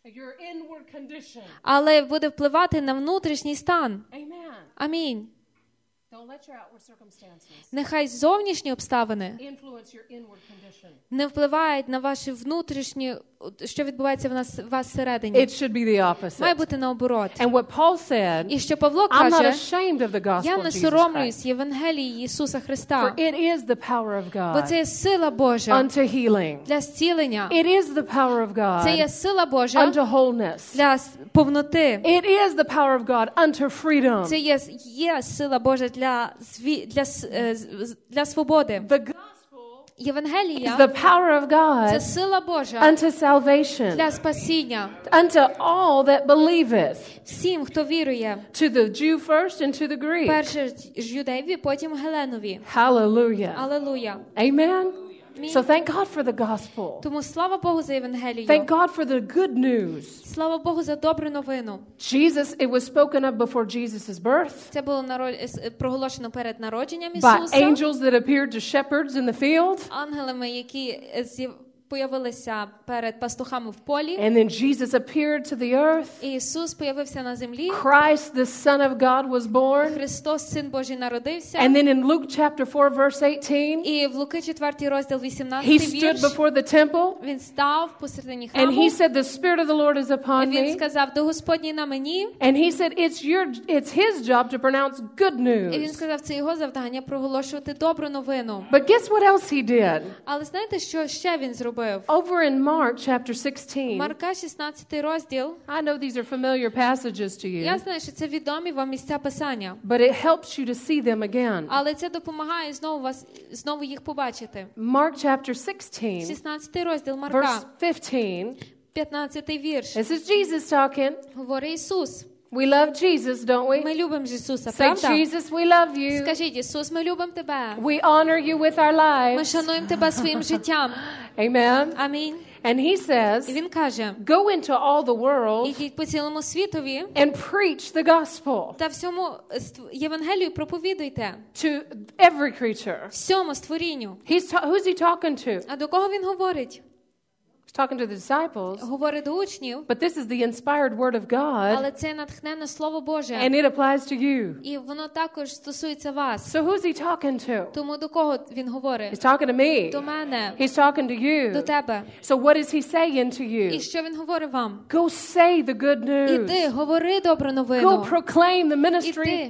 Speaker 1: Your inward condition.
Speaker 2: але буде впливати на внутрішній стан.
Speaker 1: Amen.
Speaker 2: Амінь.
Speaker 1: Don't let your outward circumstances
Speaker 2: Нехай зовнішні обставини
Speaker 1: influence your inward condition.
Speaker 2: не впливають на ваші внутрішні, що відбувається в нас в вас всередині.
Speaker 1: It should be the opposite.
Speaker 2: Має бути наоборот.
Speaker 1: And what Paul said,
Speaker 2: І що Павло
Speaker 1: I'm not
Speaker 2: каже,
Speaker 1: ashamed of the gospel
Speaker 2: я
Speaker 1: of
Speaker 2: не
Speaker 1: Jesus Christ.
Speaker 2: соромлюсь Євангелії Ісуса
Speaker 1: For
Speaker 2: Христа,
Speaker 1: it is the power of
Speaker 2: бо
Speaker 1: God
Speaker 2: це є сила Божа
Speaker 1: unto healing.
Speaker 2: для зцілення.
Speaker 1: It is the power of
Speaker 2: Це є
Speaker 1: God
Speaker 2: сила Божа
Speaker 1: unto wholeness.
Speaker 2: для с- повноти.
Speaker 1: It is the power of God unto freedom.
Speaker 2: Це є, є сила Божа для, зві- для, с- е, з- з- для свободи.
Speaker 1: The gospel is
Speaker 2: Євангелія
Speaker 1: the power of
Speaker 2: – це
Speaker 1: God
Speaker 2: сила Божа
Speaker 1: unto salvation,
Speaker 2: для спасіння
Speaker 1: unto all that believeth,
Speaker 2: всім, хто вірує.
Speaker 1: to the Jew first and to the Greek.
Speaker 2: Перше ж юдеєві, потім Геленові.
Speaker 1: Hallelujah.
Speaker 2: Алелуя.
Speaker 1: Amen.
Speaker 2: Амінь.
Speaker 1: So thank God for the gospel.
Speaker 2: Тому слава Богу за Євангелію.
Speaker 1: Thank God for the good news.
Speaker 2: Слава Богу за добру новину.
Speaker 1: Jesus, it was spoken of before Jesus' birth
Speaker 2: Це було наро- с- проголошено перед народженням
Speaker 1: by
Speaker 2: Ісуса.
Speaker 1: angels that appeared to shepherds in the field.
Speaker 2: Ангелами, які е, з'яв- появилися перед пастухами в полі.
Speaker 1: And then Jesus appeared to the earth.
Speaker 2: І Ісус появився на землі.
Speaker 1: Christ, the Son of God, was born.
Speaker 2: Христос, Син Божий, народився.
Speaker 1: And then in Luke chapter four, verse eighteen,
Speaker 2: І в Луки четвертий розділ
Speaker 1: he
Speaker 2: вісімнадцятий
Speaker 1: stood
Speaker 2: вірш.
Speaker 1: before the temple
Speaker 2: Він став посередині
Speaker 1: and
Speaker 2: храму.
Speaker 1: he said, "The Spirit of the Lord is upon
Speaker 2: Він
Speaker 1: me."
Speaker 2: сказав: "До Господній на мені."
Speaker 1: And he said, "It's your, it's his job to pronounce good
Speaker 2: І він
Speaker 1: news."
Speaker 2: сказав: "Це його завдання проголошувати добру новину."
Speaker 1: But guess what else he did?
Speaker 2: Але знаєте, що ще він зробив?
Speaker 1: Over in Mark chapter sixteen,
Speaker 2: Марка шістнадцятий розділ.
Speaker 1: I know these are familiar passages to you,
Speaker 2: Я знаю, що це відомі вам місця Писання.
Speaker 1: but it helps you to see them again.
Speaker 2: Але це допомагає знову вас знову їх побачити.
Speaker 1: Mark chapter sixteen,
Speaker 2: шістнадцятий розділ Марка,
Speaker 1: verse fifteen.
Speaker 2: п'ятнадцятий вірш.
Speaker 1: This is Jesus talking.
Speaker 2: Говорить Ісус.
Speaker 1: We love Jesus, don't we?
Speaker 2: Ми любимо ж Ісуса,
Speaker 1: Say,
Speaker 2: правда?
Speaker 1: Jesus, we love you.
Speaker 2: Скажіть: "Ісус, ми любимо тебе.
Speaker 1: We honor you with our
Speaker 2: Ми
Speaker 1: lives.
Speaker 2: шануємо тебе своїм життям."
Speaker 1: Amen.
Speaker 2: Амінь.
Speaker 1: And he
Speaker 2: І
Speaker 1: says,
Speaker 2: він каже:
Speaker 1: go into all the world
Speaker 2: "Ідіть по цілому світові
Speaker 1: and preach the gospel
Speaker 2: та всьому ст- Євангелію проповідуйте
Speaker 1: to every creature.
Speaker 2: всьому створінню."
Speaker 1: He's ta- who's he talking to?
Speaker 2: А до кого він говорить?
Speaker 1: He's talking to the disciples.
Speaker 2: Говорить до учнів,
Speaker 1: But this is the inspired word of God,
Speaker 2: але це натхненне слово Боже.
Speaker 1: and it applies to you.
Speaker 2: І воно також стосується вас.
Speaker 1: So who's he talking to?
Speaker 2: Тому до кого він говорить?
Speaker 1: He's talking to me.
Speaker 2: До мене,
Speaker 1: He's talking to
Speaker 2: до
Speaker 1: you.
Speaker 2: тебе.
Speaker 1: So what is he saying to
Speaker 2: І
Speaker 1: you?
Speaker 2: що він говорить вам?
Speaker 1: Go say the good
Speaker 2: Іди,
Speaker 1: news.
Speaker 2: говори добру
Speaker 1: Go
Speaker 2: новину.
Speaker 1: proclaim the ministry
Speaker 2: Іди,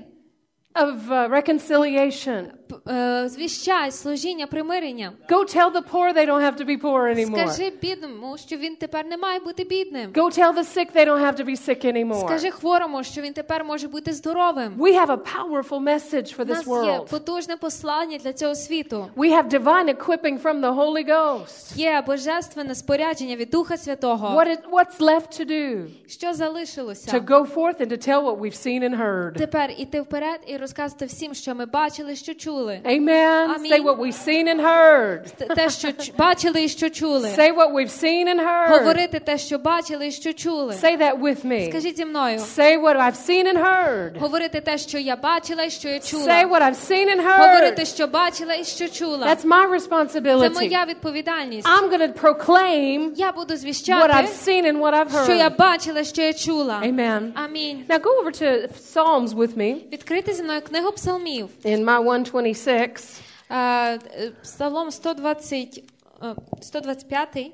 Speaker 1: of uh, reconciliation.
Speaker 2: п- е, звіщай служіння примирення.
Speaker 1: Go tell the poor they don't have to be poor anymore.
Speaker 2: Скажи бідному, що він тепер не має бути бідним.
Speaker 1: Go tell the sick they don't have to be sick anymore.
Speaker 2: Скажи хворому, що він тепер може бути здоровим.
Speaker 1: We have a powerful message for
Speaker 2: У
Speaker 1: this
Speaker 2: нас є
Speaker 1: world.
Speaker 2: потужне послання для цього світу.
Speaker 1: We have divine equipping from the Holy Ghost.
Speaker 2: Є божественне спорядження від Духа Святого.
Speaker 1: What is, what's left to do?
Speaker 2: Що залишилося?
Speaker 1: To go forth and to tell what we've seen and heard.
Speaker 2: Тепер іти вперед і розказувати всім, що ми бачили, що чули.
Speaker 1: Amen.
Speaker 2: Amen.
Speaker 1: Say what we've seen and heard.
Speaker 2: Т- Те, що ч- бачили і що чули.
Speaker 1: Say what we've seen and heard.
Speaker 2: Говорити те, що бачили і що чули.
Speaker 1: Say that with me.
Speaker 2: Скажіть зі мною.
Speaker 1: Say what I've seen and heard.
Speaker 2: Говорити те, що я бачила і що я
Speaker 1: Say
Speaker 2: чула.
Speaker 1: what I've seen and
Speaker 2: Говорити,
Speaker 1: heard.
Speaker 2: що бачила і що чула.
Speaker 1: That's my
Speaker 2: Це
Speaker 1: responsibility.
Speaker 2: моя відповідальність.
Speaker 1: I'm going to proclaim
Speaker 2: Я буду
Speaker 1: what I've
Speaker 2: звіщати,
Speaker 1: seen and what I've
Speaker 2: що я
Speaker 1: heard.
Speaker 2: бачила, що я чула.
Speaker 1: Amen.
Speaker 2: Амінь.
Speaker 1: Now go over to Psalms with me
Speaker 2: Відкрити зі мною книгу псалмів.
Speaker 1: in my one twenty-six.
Speaker 2: Е, е, Псалом сто двадцять, е, сто двадцять п'ятий.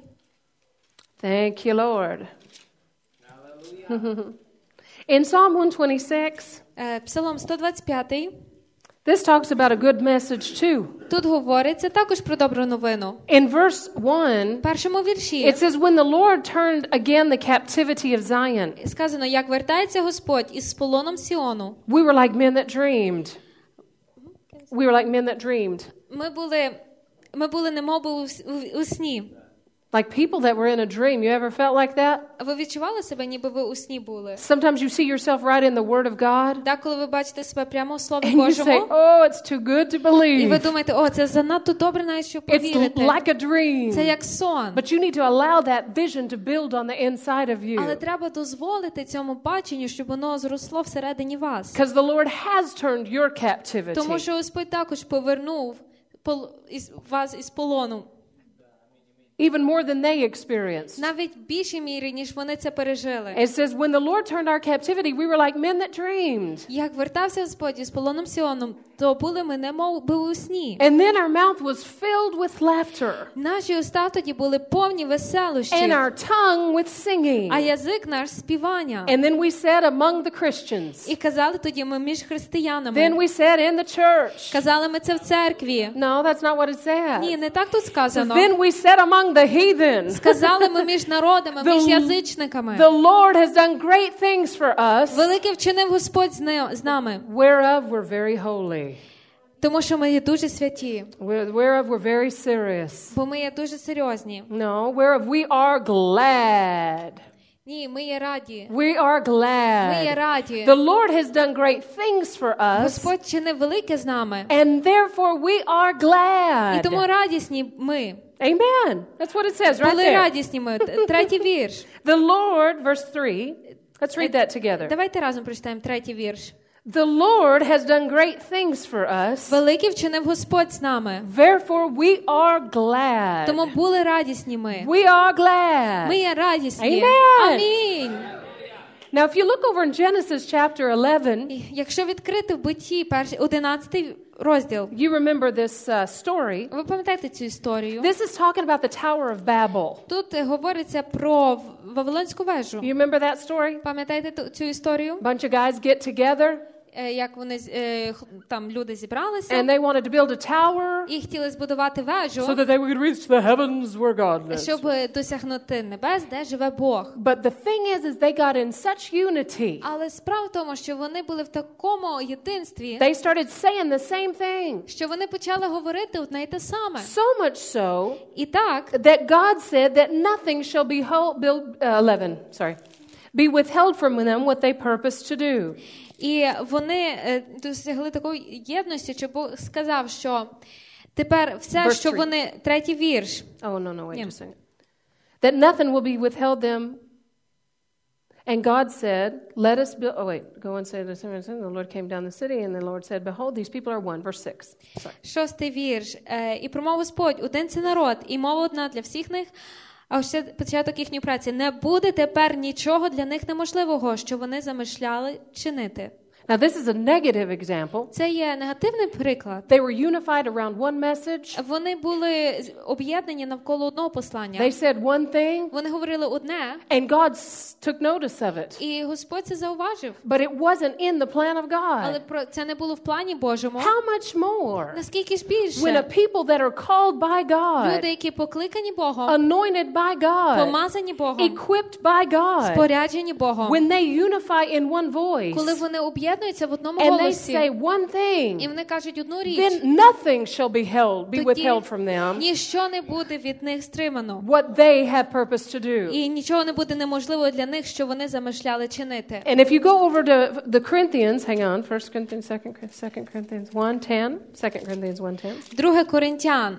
Speaker 1: Thank you, Lord. In Psalm one twenty-six,
Speaker 2: Е, Псалом сто двадцять п'ятий.
Speaker 1: this talks about a good message too.
Speaker 2: Тут говориться також про добру новину.
Speaker 1: In verse one,
Speaker 2: В першому вірші
Speaker 1: it says, when the Lord turned again the captivity of Zion,
Speaker 2: сказано: "Як вертається Господь із полоном Сіону".
Speaker 1: we were like men that dreamed. We were like men that dreamed.
Speaker 2: Ми були, ми були немов би у, с- у, у сні.
Speaker 1: Like people that were in a dream. You ever felt like that?
Speaker 2: Ви відчували себе, ніби ви у сні були?
Speaker 1: Sometimes you see yourself right in the Word of God,
Speaker 2: Деколи ви бачите себе прямо у Слові
Speaker 1: and you say,
Speaker 2: Божому,
Speaker 1: oh, it's too good to
Speaker 2: і ви
Speaker 1: believe.
Speaker 2: думаєте: "О, це занадто добре, навіть щоб
Speaker 1: It's
Speaker 2: повірити".
Speaker 1: like a dream.
Speaker 2: Це як сон.
Speaker 1: But you need to allow that vision to build on the inside of
Speaker 2: Але
Speaker 1: you.
Speaker 2: треба дозволити цьому баченню, щоб воно зросло всередині вас.
Speaker 1: Because the Lord has turned your
Speaker 2: Тому
Speaker 1: captivity.
Speaker 2: що Господь також повернув пол- із- вас із полону.
Speaker 1: even more than they experienced.
Speaker 2: Навіть в більшій мірі, ніж вони це пережили.
Speaker 1: It says, when the Lord turned our captivity, we were like men that dreamed.
Speaker 2: Як вертався Господь із полоном Сіоном, то були ми немов би у сні.
Speaker 1: And then our mouth was filled with laughter.
Speaker 2: Наші уста тоді були повні веселощів,
Speaker 1: And our tongue with singing.
Speaker 2: а язик наш співання.
Speaker 1: And then we said among the Christians.
Speaker 2: І казали тоді ми між християнами.
Speaker 1: Then we said in the church.
Speaker 2: Казали ми це в церкві.
Speaker 1: No, that's not what it says.
Speaker 2: Ні, не так тут
Speaker 1: So
Speaker 2: сказано.
Speaker 1: then we said among the heathen.
Speaker 2: Сказали ми між народами,
Speaker 1: The-
Speaker 2: між язичниками.
Speaker 1: The Lord has done great things for us,
Speaker 2: Велике вчинив Господь з не- з нами,
Speaker 1: whereof we're very holy.
Speaker 2: тому що ми є дуже святі,
Speaker 1: Where- Whereof we're very serious.
Speaker 2: бо ми є дуже серйозні.
Speaker 1: No, whereof we are glad.
Speaker 2: Ні, ми є раді.
Speaker 1: We are
Speaker 2: Ми є
Speaker 1: glad.
Speaker 2: раді.
Speaker 1: The Lord has done great things for us,
Speaker 2: Господь чинив велике з нами.
Speaker 1: and therefore we are
Speaker 2: І тому
Speaker 1: glad.
Speaker 2: радісні ми.
Speaker 1: Amen. That's what it says right
Speaker 2: Були
Speaker 1: there.
Speaker 2: радісні ми. Т- Третій вірш.
Speaker 1: The Lord, verse three. Let's read that together.
Speaker 2: Давайте разом прочитаємо третій вірш.
Speaker 1: The Lord has done great things for us,
Speaker 2: Велике вчинив Господь з нами.
Speaker 1: therefore we are glad.
Speaker 2: Тому були радісні ми.
Speaker 1: We are glad.
Speaker 2: Ми є радісні.
Speaker 1: Amen.
Speaker 2: Амінь.
Speaker 1: Now, if you look over in Genesis chapter eleven,
Speaker 2: І Якщо відкрити в Битті перший одинадцятий розділ,
Speaker 1: you remember this uh, story.
Speaker 2: ви пам'ятаєте цю історію?
Speaker 1: This is talking about the Tower of Babel.
Speaker 2: Тут е, говориться про В- Вавилонську вежу.
Speaker 1: You remember that story?
Speaker 2: Пам'ятаєте ту- цю історію?
Speaker 1: A bunch of guys get together
Speaker 2: Е, Як вони з- е, х- там люди зібралися
Speaker 1: and they wanted to build a tower
Speaker 2: і хотіли збудувати
Speaker 1: so
Speaker 2: вежу,
Speaker 1: that they would reach the heavens where God lives.
Speaker 2: щоб е, досягнути небес, де живе Бог.
Speaker 1: But the thing is, is they got in such unity.
Speaker 2: Але справа в тому, що вони були в такому єдинстві,
Speaker 1: They started saying the same thing.
Speaker 2: що вони почали говорити одне й те саме.
Speaker 1: So much so
Speaker 2: І так,
Speaker 1: that God said that nothing shall be held, build, uh, eleven, sorry, be withheld from them what they purpose to do.
Speaker 2: і вони е, досягли такої єдності, що Бог сказав, що тепер все,
Speaker 1: Verse
Speaker 2: що
Speaker 1: three.
Speaker 2: вони, третій вірш,
Speaker 1: Oh, no, no, wait
Speaker 2: Yeah.
Speaker 1: just a second. That nothing will be withheld them. And God said, let us build, oh wait, go and say this. The Lord came down the city and the Lord said, behold, these people are one. Verse six. Sorry.
Speaker 2: шостий вірш. Е, І промов Господь, один це народ, і мова одна для всіх них, а ще початок їхньої праці. Не буде тепер нічого для них неможливого, що вони замишляли чинити.
Speaker 1: Now, this is a negative example.
Speaker 2: Це є негативний приклад.
Speaker 1: They were unified around one message.
Speaker 2: Вони були з- об'єднані навколо одного послання.
Speaker 1: They said one thing,
Speaker 2: Вони говорили одне,
Speaker 1: and God s- took notice of it.
Speaker 2: і Господь це зауважив.
Speaker 1: But it wasn't in the plan of
Speaker 2: Але
Speaker 1: God.
Speaker 2: про це не було в плані Божому.
Speaker 1: How much more
Speaker 2: Наскільки ж
Speaker 1: when a
Speaker 2: більше
Speaker 1: people that are called by
Speaker 2: люди,
Speaker 1: God,
Speaker 2: які покликані Богом,
Speaker 1: anointed by God,
Speaker 2: помазані Богом,
Speaker 1: equipped by God,
Speaker 2: споряджені Богом,
Speaker 1: when they unify in one voice,
Speaker 2: коли вони об'єднуються в одному
Speaker 1: and they
Speaker 2: голосі,
Speaker 1: say one
Speaker 2: і
Speaker 1: thing,
Speaker 2: вони кажуть одну річ,
Speaker 1: then nothing shall be held, be
Speaker 2: тоді
Speaker 1: withheld from them,
Speaker 2: ніщо не буде від них стримано.
Speaker 1: what they have purpose to do.
Speaker 2: І нічого не буде неможливо для них, що вони замишляли чинити.
Speaker 1: And if you go over to the Corinthians, hang on, First Corinthians, Second Second Corinthians one ten, Second Corinthians one ten.
Speaker 2: Друге Коринтян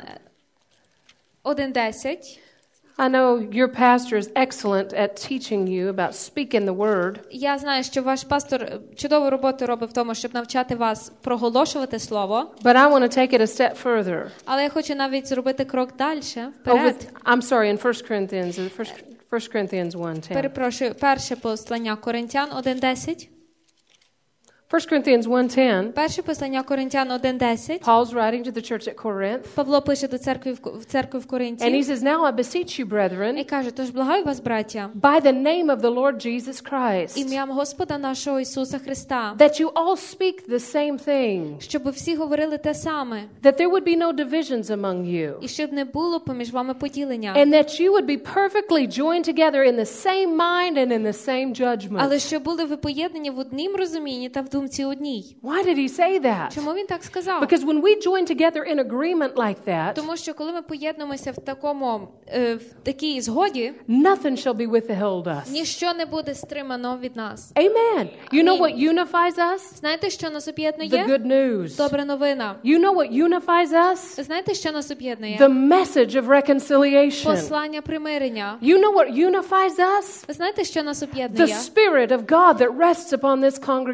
Speaker 2: один десять.
Speaker 1: I know your pastor is excellent at teaching you about speaking the word,
Speaker 2: Я знаю, що ваш пастор чудову роботу робить в тому, щоб навчати вас проголошувати слово.
Speaker 1: but I want to take it a step further.
Speaker 2: Але я хочу навіть зробити крок далі,
Speaker 1: Over,
Speaker 2: вперед.
Speaker 1: I'm sorry, in First Corinthians, uh, First, First Corinthians one ten.
Speaker 2: Перепрошую, перше послання Коринтян один десять.
Speaker 1: First Corinthians one ten.
Speaker 2: Перше послання Коринтян один десять.
Speaker 1: Paul's writing to the church at Corinth,
Speaker 2: Павло пише до церкви в в церкві в
Speaker 1: and he
Speaker 2: Коринті
Speaker 1: says, "Now I beseech you,
Speaker 2: і
Speaker 1: brethren,
Speaker 2: каже: "Тож благаю вас, браття,
Speaker 1: by the name of the Lord Jesus Christ,
Speaker 2: ім'ям Господа нашого Ісуса Христа,
Speaker 1: that you all speak the same thing,
Speaker 2: щоб всі говорили те саме,
Speaker 1: that there would be no divisions among you,
Speaker 2: і щоб не було поміж вами поділення,
Speaker 1: and that you would be perfectly joined together in the same mind and in the same judgment."
Speaker 2: але щоб були ви поєднані в однім розумінні та в думці одній."
Speaker 1: Why did he say that?
Speaker 2: Чому він так сказав?
Speaker 1: Because when we join together in agreement like that,
Speaker 2: Тому що коли ми поєднуємося в такому е, в такій згоді,
Speaker 1: nothing shall be withheld us.
Speaker 2: ніщо не буде стримано від нас.
Speaker 1: Amen. You know
Speaker 2: Amen.
Speaker 1: what unifies us?
Speaker 2: Знаєте, що нас
Speaker 1: The
Speaker 2: об'єднує?
Speaker 1: good news.
Speaker 2: Добра новина.
Speaker 1: You know what unifies us?
Speaker 2: Знаєте, що нас об'єднує?
Speaker 1: The message of reconciliation.
Speaker 2: Послання примирення.
Speaker 1: You know what unifies us?
Speaker 2: Знаєте, що нас
Speaker 1: The
Speaker 2: об'єднує?
Speaker 1: Spirit of God that rests upon this congregation.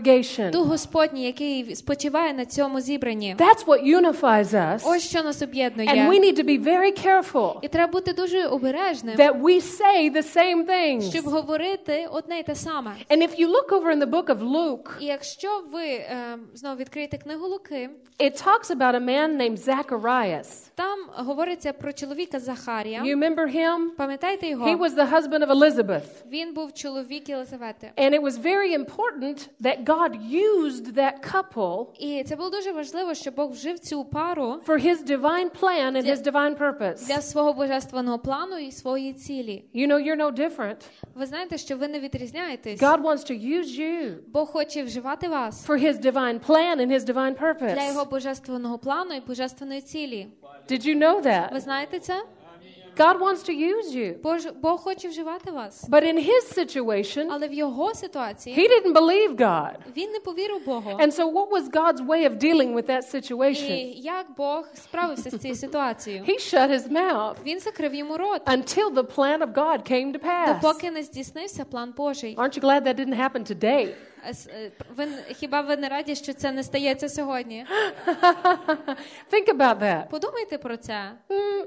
Speaker 1: congregation.
Speaker 2: Дух Господній, який спочиває на цьому зібранні.
Speaker 1: That's what unifies us.
Speaker 2: Ось що нас об'єднує.
Speaker 1: And we need to be very careful
Speaker 2: І треба бути дуже обережним,
Speaker 1: that we say the same things.
Speaker 2: щоб говорити одне й те саме.
Speaker 1: And if you look over in the book of Luke,
Speaker 2: І якщо ви е, знову відкриєте книгу Луки,
Speaker 1: it talks about a man named Zacharias.
Speaker 2: там говориться про чоловіка Захарія.
Speaker 1: You remember him?
Speaker 2: Пам'ятаєте його?
Speaker 1: He was the husband of Elizabeth.
Speaker 2: Він був чоловік Єлизавети.
Speaker 1: And it was very important that God used that couple
Speaker 2: І це було дуже важливо, що Бог вжив цю пару
Speaker 1: for his divine plan and his divine purpose.
Speaker 2: для свого божественного плану і своєї цілі.
Speaker 1: You know, you're no different.
Speaker 2: Ви знаєте, що ви не відрізняєтесь.
Speaker 1: God wants to use you
Speaker 2: Бог хоче вживати вас
Speaker 1: for his divine plan and his divine purpose.
Speaker 2: для його божественного плану і божественної цілі.
Speaker 1: Did you know that?
Speaker 2: Ви знаєте це?
Speaker 1: God wants to use you.
Speaker 2: Бог, Бог хоче вживати вас.
Speaker 1: But in his situation,
Speaker 2: Але в його ситуації
Speaker 1: he didn't believe God.
Speaker 2: він не повірив Богу.
Speaker 1: And so what was God's way of dealing with that situation?
Speaker 2: І як Бог справився з цією ситуацією?
Speaker 1: He shut his mouth
Speaker 2: Він закрив йому рот,
Speaker 1: until the plan of God came to pass.
Speaker 2: допоки не здійснився план Божий.
Speaker 1: Aren't you glad that didn't happen today?
Speaker 2: Ви, хіба ви не раді, що це не стається сьогодні?
Speaker 1: Think about that.
Speaker 2: Подумайте про це.
Speaker 1: Mm,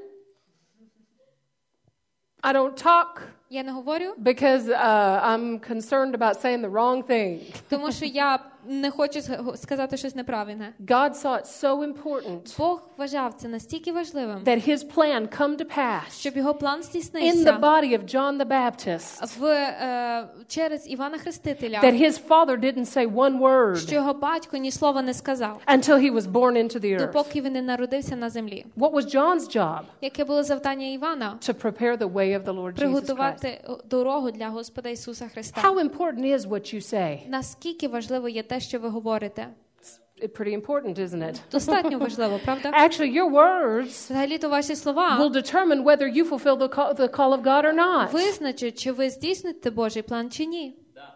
Speaker 1: I don't talk
Speaker 2: Я не говорю,
Speaker 1: because uh, I'm concerned about saying the wrong thing.
Speaker 2: тому що я не хочу сказати щось неправильне.
Speaker 1: God saw it so important
Speaker 2: Бог вважав це настільки важливим,
Speaker 1: that his plan come to pass
Speaker 2: щоб його план
Speaker 1: in the
Speaker 2: здійснився
Speaker 1: body of John the Baptist,
Speaker 2: в, е, через Івана Хрестителя,
Speaker 1: that his father didn't say one
Speaker 2: що
Speaker 1: word
Speaker 2: його батько ні слова не сказав,
Speaker 1: until he was born into the earth.
Speaker 2: допоки він не народився на землі.
Speaker 1: What was John's job?
Speaker 2: Яке було завдання Івана?
Speaker 1: To prepare the way of the Lord Jesus Christ.
Speaker 2: Приготувати дорогу для Господа Ісуса Христа.
Speaker 1: How important is what you say?
Speaker 2: Наскільки важливо є те, що ви говорите?
Speaker 1: It's pretty important, isn't it?
Speaker 2: Достатньо важливо, правда?
Speaker 1: Actually, your words
Speaker 2: Взагалі-то ваші
Speaker 1: will
Speaker 2: слова
Speaker 1: determine whether you fulfill the call, the call of God or not.
Speaker 2: визначать, чи ви здійсните Божий план, чи ні.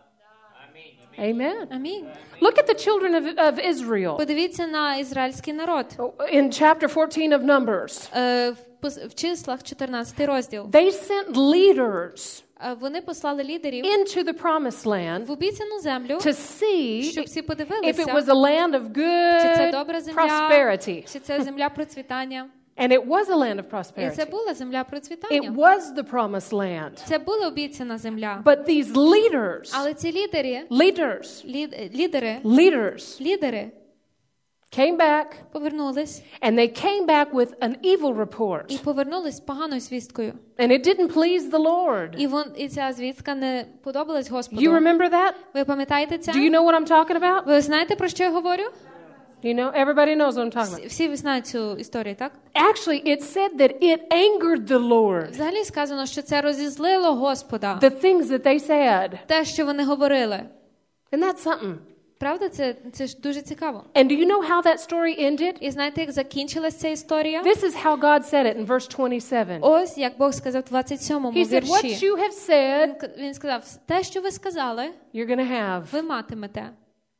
Speaker 1: Amen.
Speaker 2: Амінь.
Speaker 1: Look at the children of, of Israel
Speaker 2: Подивіться на ізраїльський народ.
Speaker 1: in chapter fourteen of Numbers.
Speaker 2: Е, в, пос- в числах чотирнадцятий розділ.
Speaker 1: They sent leaders
Speaker 2: Е, Вони послали лідерів
Speaker 1: into the promised land
Speaker 2: в обіцяну землю,
Speaker 1: to see
Speaker 2: щоб всі
Speaker 1: if it
Speaker 2: подивилися,
Speaker 1: was a land of
Speaker 2: чи це
Speaker 1: good
Speaker 2: добра земля,
Speaker 1: prosperity.
Speaker 2: чи це земля процвітання.
Speaker 1: And it was a land of
Speaker 2: І це
Speaker 1: prosperity.
Speaker 2: була земля
Speaker 1: It
Speaker 2: процвітання.
Speaker 1: was the promised land.
Speaker 2: Це була обіцяна земля.
Speaker 1: But these leaders,
Speaker 2: Але ці лідери,
Speaker 1: leaders,
Speaker 2: лід, лідери,
Speaker 1: leaders
Speaker 2: лідери
Speaker 1: came back,
Speaker 2: повернулись
Speaker 1: and they came back with an evil report.
Speaker 2: і повернулись з поганою звісткою.
Speaker 1: And it didn't please the Lord.
Speaker 2: І вон і ця звістка не подобалась
Speaker 1: You
Speaker 2: Господу.
Speaker 1: remember that?
Speaker 2: Ви пам'ятаєте це?
Speaker 1: Do you know what I'm talking about?
Speaker 2: Ви знаєте, про що я говорю?
Speaker 1: You know, everybody knows what I'm talking about.
Speaker 2: Всі ви знають цю історію, так?
Speaker 1: Actually, it said that it angered the Lord.
Speaker 2: Взагалі сказано, що це розізлило Господа.
Speaker 1: The things that they said.
Speaker 2: Те, що вони говорили.
Speaker 1: And that's something.
Speaker 2: Правда? Це, це ж дуже цікаво.
Speaker 1: And do you know how that story ended?
Speaker 2: І знаєте, як закінчилась ця історія?
Speaker 1: This is how God said it in verse twenty-seven.
Speaker 2: Ось, як Бог сказав в двадцять сьомому
Speaker 1: He said, what
Speaker 2: вірші.
Speaker 1: you have said,
Speaker 2: Він- Він сказав, те, що ви сказали,
Speaker 1: you're going to have.
Speaker 2: ви матимете.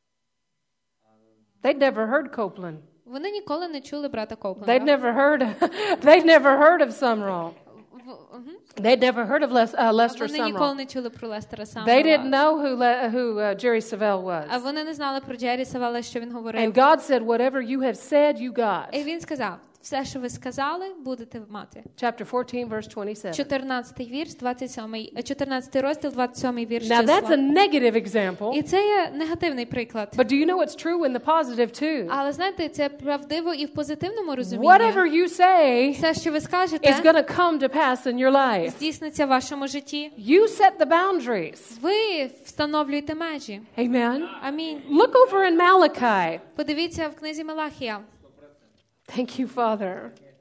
Speaker 1: They'd never heard Copeland.
Speaker 2: Вони ніколи не чули брата
Speaker 1: They'd
Speaker 2: Коупленда.
Speaker 1: never heard, they'd never heard of Sumrall.
Speaker 2: В- мгм.
Speaker 1: They'd never heard of Les, uh, Lester
Speaker 2: Вони ніколи
Speaker 1: Sumrall.
Speaker 2: не чули про Лестера
Speaker 1: They didn't
Speaker 2: Саммера.
Speaker 1: know who, Le, who uh, Jerry Savelle
Speaker 2: А
Speaker 1: was.
Speaker 2: вони не знали про Джері Савела, що він говорив.
Speaker 1: And God said, whatever you have said, you got.
Speaker 2: І він сказав, все, що ви сказали, будете мати.
Speaker 1: Chapter fourteen, verse twenty-seven.
Speaker 2: чотирнадцятий вірш, двадцять сьомий, е, чотирнадцятий розділ, двадцять сьомий вірш
Speaker 1: Now that's a
Speaker 2: числа.
Speaker 1: negative example,
Speaker 2: І це є негативний приклад.
Speaker 1: but do you know it's true in the positive too?
Speaker 2: Але знаєте, це правдиво і в позитивному розумінні.
Speaker 1: Whatever you say
Speaker 2: Все, що ви
Speaker 1: is
Speaker 2: скажете,
Speaker 1: going to come to pass in your life.
Speaker 2: здійсниться в вашому житті.
Speaker 1: You set the boundaries.
Speaker 2: Ви встановлюєте межі.
Speaker 1: Amen.
Speaker 2: Амінь.
Speaker 1: Look over in Malachi.
Speaker 2: Подивіться в книзі Малахія.
Speaker 1: Thank you, Father.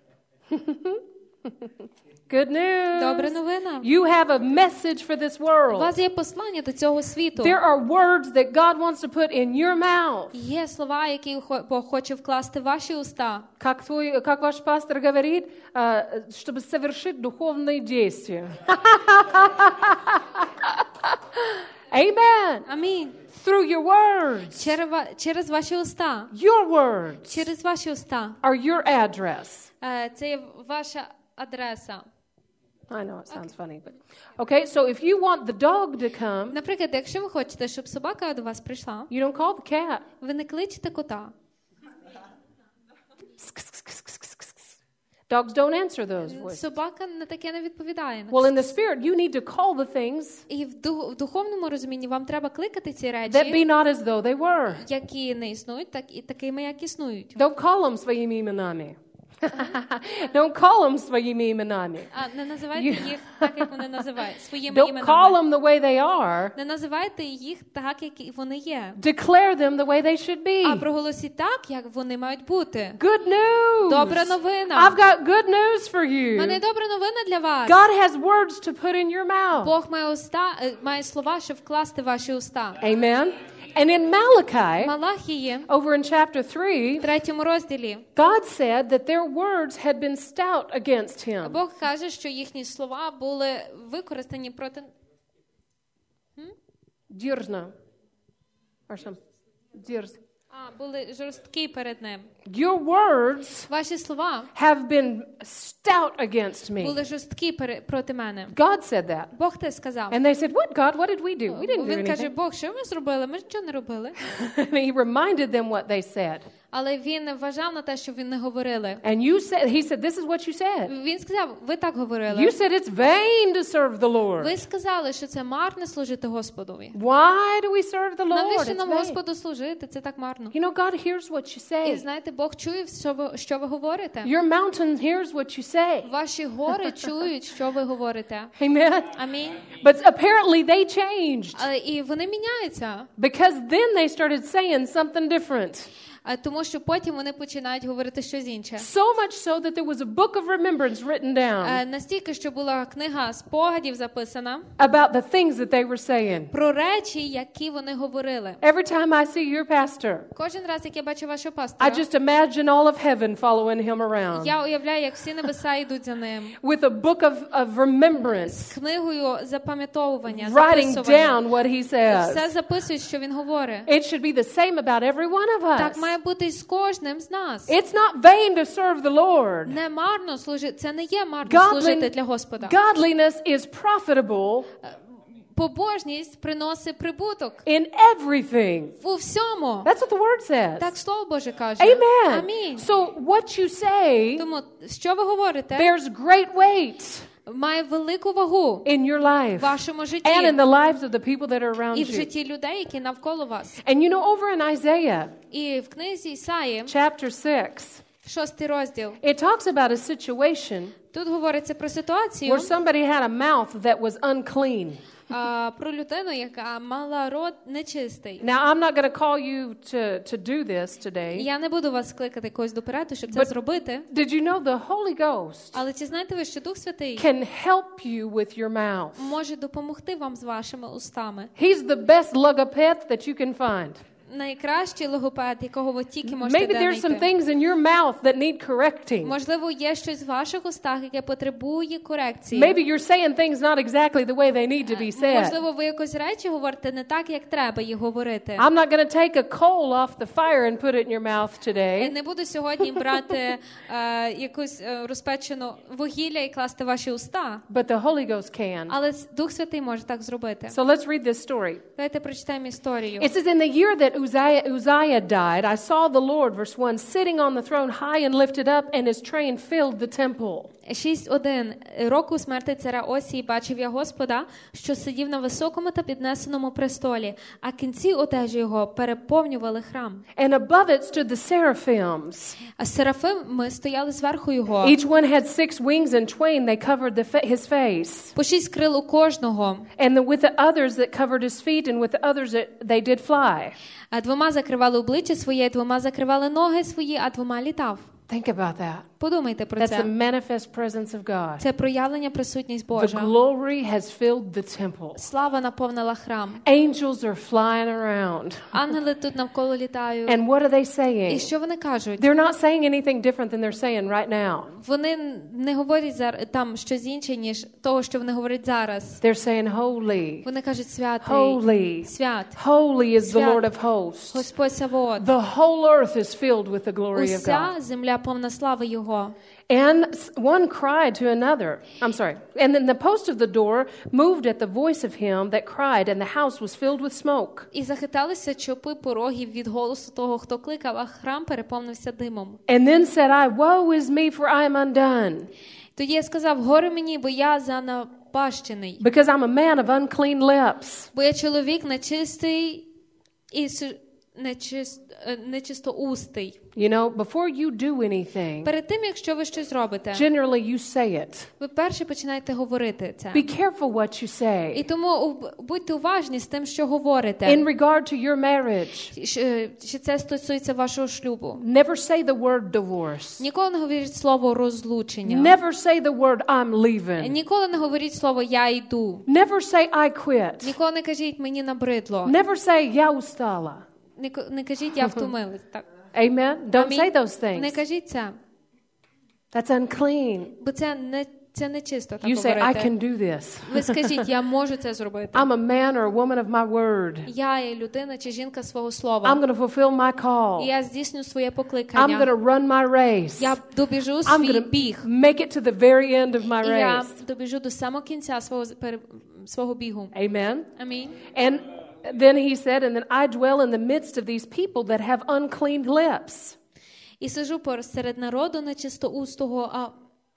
Speaker 1: Good news.
Speaker 2: Добра новина.
Speaker 1: You have a message for this
Speaker 2: У
Speaker 1: world.
Speaker 2: вас є послання до цього світу.
Speaker 1: There are words that God wants to put in your mouth.
Speaker 2: Є слова, які хо- Бог хоче вкласти в ваші уста.
Speaker 1: Как твой, как ваш пастор говорит, э, чтобы совершить духовные действия. Amen.
Speaker 2: Амінь.
Speaker 1: Through your words.
Speaker 2: Через, ва- через ваші уста.
Speaker 1: Your words
Speaker 2: Через ваші уста.
Speaker 1: are your address.
Speaker 2: Е, Це є ваша адреса.
Speaker 1: I know it sounds funny, but okay. So if you want the dog to come,
Speaker 2: Наприклад, якщо ви хочете, щоб собака до вас прийшла,
Speaker 1: you don't call the cat.
Speaker 2: ви не кличете кота.
Speaker 1: Dogs don't answer those voices.
Speaker 2: Собака на таке не відповідає.
Speaker 1: Well, in the spirit, you need to call the things
Speaker 2: І в, дух, в духовному розумінні вам треба кликати ці
Speaker 1: that
Speaker 2: речі,
Speaker 1: be not as though they were.
Speaker 2: які не існують, так і такими, як існують.
Speaker 1: Don't call them своїми іменами. Don't call them своїми іменами.
Speaker 2: А не називайте їх так, як вони називають, своїми
Speaker 1: Don't call
Speaker 2: іменами.
Speaker 1: them the way they are.
Speaker 2: Не називайте їх так, як вони є.
Speaker 1: Declare them the way they should be.
Speaker 2: А проголосіть так, як вони мають бути.
Speaker 1: Good news.
Speaker 2: Добра новина.
Speaker 1: I've got good news for
Speaker 2: У мене
Speaker 1: you.
Speaker 2: добра новина для вас.
Speaker 1: God has words to put in your mouth.
Speaker 2: Бог має уста, е, має слова, щоб вкласти в ваші уста.
Speaker 1: Amen. And in Malachi,
Speaker 2: Малахії,
Speaker 1: over in chapter three,
Speaker 2: в третьому розділі,
Speaker 1: God said that their words had been stout against him.
Speaker 2: Бог каже, що їхні слова були використані проти...
Speaker 1: Дерзно. Or some. Дерз.
Speaker 2: А, були жорсткі перед ним.
Speaker 1: Your words
Speaker 2: Ваші слова
Speaker 1: have been stout against me.
Speaker 2: були жорсткі пере- проти мене.
Speaker 1: God said that.
Speaker 2: Бог те сказав.
Speaker 1: And they said, what, God? What did we do? We didn't do
Speaker 2: Він каже,
Speaker 1: anything.
Speaker 2: Бог, що ми зробили? Ми нічого не робили.
Speaker 1: And he reminded them what they said.
Speaker 2: Але він вважав на те, що він не говорили.
Speaker 1: And you said, he said, this is what you said.
Speaker 2: Він сказав, ви так говорили.
Speaker 1: You said it's vain to serve the Lord.
Speaker 2: Ви сказали, що це марно служити Господові.
Speaker 1: Why do we serve the Lord?
Speaker 2: Навіщо
Speaker 1: It's
Speaker 2: нам
Speaker 1: vain.
Speaker 2: Господу служити? Це так марно.
Speaker 1: You know, God hears what you
Speaker 2: І
Speaker 1: say.
Speaker 2: знаєте, Бог чує, що ви, що ви говорите.
Speaker 1: Your mountain hears what you say.
Speaker 2: Ваші гори чують, що ви говорите.
Speaker 1: Amen.
Speaker 2: Амінь.
Speaker 1: But apparently they changed
Speaker 2: Але і вони міняються.
Speaker 1: because then they started saying something different.
Speaker 2: А тому що потім вони починають говорити щось інше.
Speaker 1: So much so that there was a book of remembrance written down
Speaker 2: Е, Настільки, що була книга спогадів записана
Speaker 1: about the things that they were saying.
Speaker 2: про речі, які вони говорили.
Speaker 1: Every time I see your pastor,
Speaker 2: Кожен раз, як я бачу вашого
Speaker 1: I
Speaker 2: пастора,
Speaker 1: just imagine all of heaven following him around
Speaker 2: я уявляю, як всі небеса йдуть за ним.
Speaker 1: with a book of, of remembrance,
Speaker 2: З книгою запам'ятовування,
Speaker 1: writing
Speaker 2: записування.
Speaker 1: down what he
Speaker 2: Все
Speaker 1: says.
Speaker 2: записують, що він говорить.
Speaker 1: It should be the same about every one of
Speaker 2: Так
Speaker 1: us.
Speaker 2: має бути і з кожним з нас.
Speaker 1: It's not vain to serve the Lord.
Speaker 2: Не марно служити, це не є марно
Speaker 1: Godly-
Speaker 2: служити для Господа.
Speaker 1: Godliness is profitable
Speaker 2: Побожність приносить прибуток
Speaker 1: in everything.
Speaker 2: у всьому.
Speaker 1: That's what the word says.
Speaker 2: Так Слово Боже каже.
Speaker 1: Amen.
Speaker 2: Амінь.
Speaker 1: So what you say
Speaker 2: Тому, що ви говорите,
Speaker 1: bears great weight
Speaker 2: має велику вагу
Speaker 1: in your life
Speaker 2: в вашому житті
Speaker 1: and in the lives of the people that are around
Speaker 2: і в
Speaker 1: you.
Speaker 2: житті людей, які навколо вас.
Speaker 1: And you know, over in Isaiah
Speaker 2: І в книзі Ісаї,
Speaker 1: chapter six,
Speaker 2: шостий розділ,
Speaker 1: it talks about a situation
Speaker 2: тут говориться про ситуацію,
Speaker 1: where somebody had a mouth that was unclean.
Speaker 2: а, про людину, яка мала рот нечистий.
Speaker 1: Now, I'm not going to call you to, to do this today,
Speaker 2: Я не буду вас кликати когось до переду, щоб це
Speaker 1: But-
Speaker 2: зробити.
Speaker 1: did you know the Holy Ghost
Speaker 2: Але чи знаєте ви, що Дух Святий
Speaker 1: can help you with your mouth?
Speaker 2: може допомогти вам з вашими устами?
Speaker 1: He's the best logoped that you can find.
Speaker 2: Найкращий логопед, якого ви тільки можете
Speaker 1: Maybe there's some
Speaker 2: знайти.
Speaker 1: things in your mouth that need correcting.
Speaker 2: Можливо, є щось в ваших устах, яке потребує корекції.
Speaker 1: Maybe you're saying things not exactly the way they need to be said.
Speaker 2: Можливо, ви якось речі говорите не так, як треба їх говорити.
Speaker 1: I'm not going to take a coal off the fire and put it in your mouth
Speaker 2: Я
Speaker 1: today.
Speaker 2: не буду сьогодні брати е, якусь е, розпечену вугілля і класти в ваші уста,
Speaker 1: But the Holy Ghost can.
Speaker 2: але Дух Святий може так зробити.
Speaker 1: So let's read this story.
Speaker 2: Давайте прочитаємо історію.
Speaker 1: It says, in the year that Uzziah, Uzziah died, I saw the Lord, verse one, sitting on the throne high and lifted up, and his train filled the temple.
Speaker 2: шість один. Року смерти царя Осії бачив я Господа, що сидів на високому та піднесеному престолі, а кінці одежі його переповнювали храм.
Speaker 1: And above it stood the seraphims.
Speaker 2: А серафими стояли зверху його.
Speaker 1: Each one had six wings, and twain they covered the fa- his face.
Speaker 2: По шість крил у кожного.
Speaker 1: And the, with the others that covered his feet, and with the others that they did fly.
Speaker 2: А двома закривали обличчя своє, двома закривали ноги свої, а двома літав.
Speaker 1: Think about that.
Speaker 2: Подумайте про
Speaker 1: That's the
Speaker 2: це.
Speaker 1: manifest presence of God.
Speaker 2: Це проявлення присутність
Speaker 1: The
Speaker 2: Божа.
Speaker 1: glory has filled the temple.
Speaker 2: Слава наповнила храм.
Speaker 1: Angels are flying around.
Speaker 2: Ангели тут навколо літають.
Speaker 1: And what are they
Speaker 2: І
Speaker 1: saying?
Speaker 2: що вони кажуть?
Speaker 1: They're not saying anything different than they're saying right now.
Speaker 2: Вони не говорять зараз там щось інше, ніж того, що вони говорять зараз.
Speaker 1: They're saying, Holy,
Speaker 2: Вони кажуть святий,
Speaker 1: holy,
Speaker 2: свят,
Speaker 1: holy is the
Speaker 2: Свят.
Speaker 1: Lord of hosts.
Speaker 2: Господь Савоот.
Speaker 1: The whole earth is filled with the glory of
Speaker 2: Уся
Speaker 1: God.
Speaker 2: земля повна слави Його. його.
Speaker 1: And one cried to another. I'm sorry. And then the post of the door moved at the voice of him that cried, and the house was filled with smoke.
Speaker 2: І захиталися чопи порогів від голосу того, хто кликав, а храм переповнився димом.
Speaker 1: And then said I, woe is me, for I am undone.
Speaker 2: Тоді я сказав, горе мені, бо я занапащений.
Speaker 1: Because I'm a man of unclean lips.
Speaker 2: Бо я чоловік нечистий і нечист, нечистоустий.
Speaker 1: You know, before you do anything,
Speaker 2: Перед тим, якщо ви щось робите,
Speaker 1: generally you say it.
Speaker 2: ви перше починаєте говорити це.
Speaker 1: Be careful what you say.
Speaker 2: І тому будьте уважні з тим, що говорите.
Speaker 1: In regard to your marriage,
Speaker 2: Чи це стосується вашого шлюбу?
Speaker 1: never say the word divorce.
Speaker 2: Ніколи не говоріть слово розлучення.
Speaker 1: Never say the word I'm leaving.
Speaker 2: Ніколи не говоріть слово я йду.
Speaker 1: Never say I quit.
Speaker 2: Ніколи не кажіть мені набридло.
Speaker 1: Never say я устала.
Speaker 2: Не, не кажіть я втомилась. Так.
Speaker 1: Amen. Don't
Speaker 2: Амінь.
Speaker 1: say those things.
Speaker 2: Не кажіть це.
Speaker 1: That's unclean.
Speaker 2: Бо це не це не чисто так
Speaker 1: You say I
Speaker 2: говорити.
Speaker 1: can do this.
Speaker 2: Ви скажіть, я можу це зробити.
Speaker 1: I'm a man or a woman of my word.
Speaker 2: Я є людина чи жінка свого
Speaker 1: I'm
Speaker 2: слова.
Speaker 1: going to fulfill my
Speaker 2: І
Speaker 1: call.
Speaker 2: я здійсню своє
Speaker 1: I'm going
Speaker 2: покликання.
Speaker 1: to run my race.
Speaker 2: Я добіжу
Speaker 1: I'm
Speaker 2: свій
Speaker 1: going to
Speaker 2: біг.
Speaker 1: make it to the very end of my
Speaker 2: І я
Speaker 1: race.
Speaker 2: добіжу до самого кінця свого пере- свого бігу.
Speaker 1: Amen.
Speaker 2: Амінь.
Speaker 1: And then he said, and then I dwell in the midst of these people that have unclean lips.
Speaker 2: І сижу посеред народу нечистоустого, а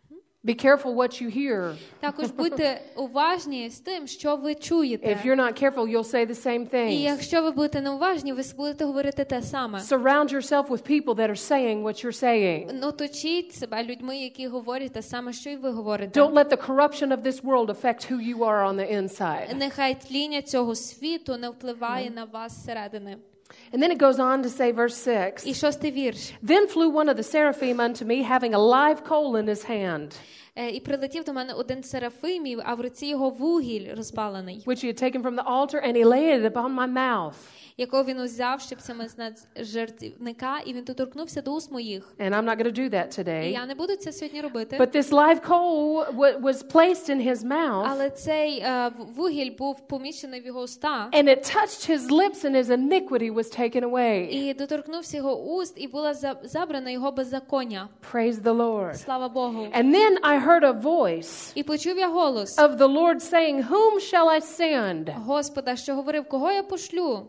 Speaker 1: Be careful what you hear.
Speaker 2: також будьте уважні з тим, що ви чуєте.
Speaker 1: If you're not careful, you'll say the same
Speaker 2: І
Speaker 1: things.
Speaker 2: якщо ви будете неуважні, ви будете говорити те саме.
Speaker 1: Surround yourself with people that are saying what you're saying.
Speaker 2: Ну, точіть себе людьми, які говорять те саме, що й ви говорите.
Speaker 1: Don't let the corruption of this world affect who you are on the inside.
Speaker 2: Нехай тління цього світу не впливає на вас зсередини.
Speaker 1: And then it goes on to say, verse six,
Speaker 2: І шостий вірш.
Speaker 1: Then flew one of the seraphim unto me, having a live coal in his hand,
Speaker 2: Е, І прилетів до мене один з серафимів, а в руці його вугіль розпалений,
Speaker 1: which he had taken from the altar, and he laid it upon my mouth.
Speaker 2: якого він узяв щипцями з жертівника, і він доторкнувся до уст моїх.
Speaker 1: And I'm not going to do that
Speaker 2: І
Speaker 1: today.
Speaker 2: я не буду це сьогодні робити.
Speaker 1: But this live coal w- was placed in his mouth,
Speaker 2: Але цей е, вугіль був поміщений в його уста,
Speaker 1: and it touched his lips, and his iniquity was taken away.
Speaker 2: і доторкнувся його уст, і була за- забрана його беззаконня.
Speaker 1: Praise the Lord.
Speaker 2: Слава Богу.
Speaker 1: And then I heard a voice
Speaker 2: І почув я голос
Speaker 1: of the Lord saying, Whom shall I send?
Speaker 2: Господа, що говорив, кого я пошлю?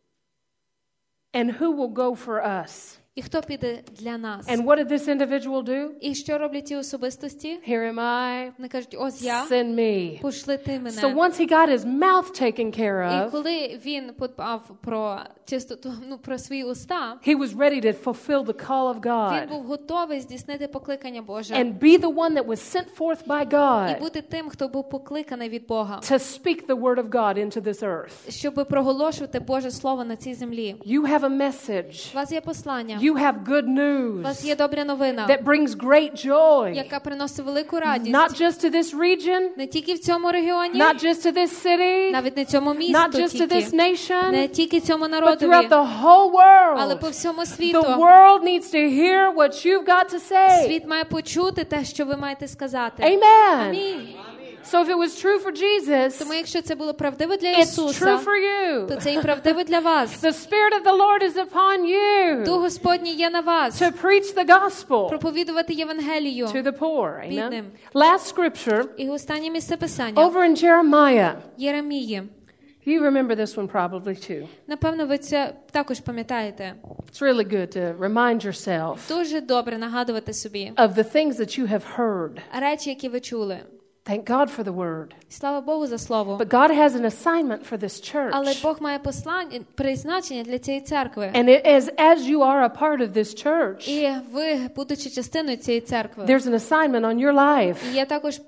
Speaker 1: And who will go for us?
Speaker 2: І хто піде для нас?
Speaker 1: And what did this individual do?
Speaker 2: І що роблять ті особистості?
Speaker 1: Here am I.
Speaker 2: Вони кажуть, ось я,
Speaker 1: Send me.
Speaker 2: пошли ти мене.
Speaker 1: So once he got his mouth taken care
Speaker 2: І
Speaker 1: of,
Speaker 2: коли він подбав про чистоту, ну, про свої уста,
Speaker 1: he was ready to fulfill the call of
Speaker 2: він
Speaker 1: God
Speaker 2: був готовий здійснити покликання Боже.
Speaker 1: and be the one that was sent forth by
Speaker 2: І
Speaker 1: God
Speaker 2: бути тим, хто був покликаний від Бога.
Speaker 1: to speak the word of God into this earth.
Speaker 2: Щоб проголошувати Боже Слово на цій землі.
Speaker 1: You have a message.
Speaker 2: У вас є послання.
Speaker 1: You have good
Speaker 2: У вас
Speaker 1: news
Speaker 2: є добра новина,
Speaker 1: that brings great joy,
Speaker 2: яка приносить велику радість.
Speaker 1: not just to this region,
Speaker 2: Не тільки в цьому регіоні,
Speaker 1: not just to this city,
Speaker 2: навіть не цьому
Speaker 1: not
Speaker 2: місту
Speaker 1: just to this
Speaker 2: тільки,
Speaker 1: nation,
Speaker 2: не тільки цьому
Speaker 1: but
Speaker 2: народові,
Speaker 1: throughout the whole
Speaker 2: але по
Speaker 1: world.
Speaker 2: всьому світу.
Speaker 1: The world needs to hear what you've got to say.
Speaker 2: Світ має почути те, що ви маєте сказати.
Speaker 1: Amen.
Speaker 2: Амінь.
Speaker 1: So if it was true for Jesus,
Speaker 2: Тому якщо це було правдиво для
Speaker 1: it's
Speaker 2: Ісуса,
Speaker 1: true for you.
Speaker 2: то це і правдиво для вас.
Speaker 1: The Spirit of the Lord is upon you
Speaker 2: Дух Господній є на вас.
Speaker 1: to preach the gospel
Speaker 2: Проповідувати Євангелію.
Speaker 1: to the poor. Amen.
Speaker 2: Бідним.
Speaker 1: Last scripture,
Speaker 2: І останнє місце Писання.
Speaker 1: over in Jeremiah.
Speaker 2: Єремії.
Speaker 1: You remember this one probably too.
Speaker 2: Напевно, ви це також пам'ятаєте.
Speaker 1: It's really good to remind yourself
Speaker 2: Дуже добре нагадувати собі
Speaker 1: of the things that you have heard.
Speaker 2: речі, які ви чули.
Speaker 1: Thank God for the word.
Speaker 2: Слава Богу за слово.
Speaker 1: But God has an assignment for this
Speaker 2: Але
Speaker 1: church.
Speaker 2: Бог має послання, призначення для цієї церкви.
Speaker 1: And it is as you are a part of this church,
Speaker 2: І ви, будучи частиною цієї церкви,
Speaker 1: there's an assignment on your life.
Speaker 2: і є також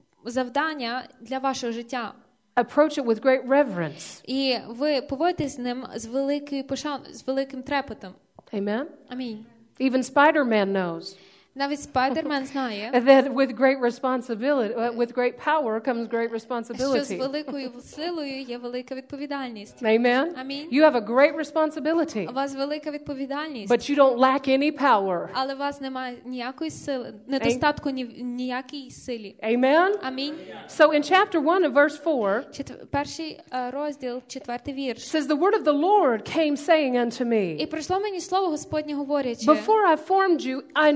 Speaker 2: завдання для вашого життя.
Speaker 1: Approach it with great reverence.
Speaker 2: І ви поводитесь з ним з великою пошаною, з великим трепетом.
Speaker 1: Amen.
Speaker 2: Амінь.
Speaker 1: Even Spider-Man knows
Speaker 2: Навіть Спайдермен знає,
Speaker 1: that with great responsibility, uh, with great power comes great
Speaker 2: що з
Speaker 1: responsibility.
Speaker 2: великою силою є велика відповідальність.
Speaker 1: Amen.
Speaker 2: Амінь.
Speaker 1: You have a great responsibility,
Speaker 2: У вас велика відповідальність,
Speaker 1: but you don't lack any power.
Speaker 2: але у вас немає ніякої сили, недостатку ні, ніякій силі.
Speaker 1: Amen.
Speaker 2: Амінь.
Speaker 1: So in chapter one of verse four,
Speaker 2: Четв... Перший е, розділ, четвертий вірш.
Speaker 1: it says, "The word of the Lord came saying unto
Speaker 2: І
Speaker 1: me,
Speaker 2: прийшло мені слово Господнє говорячи,
Speaker 1: Before I formed you, I knew you.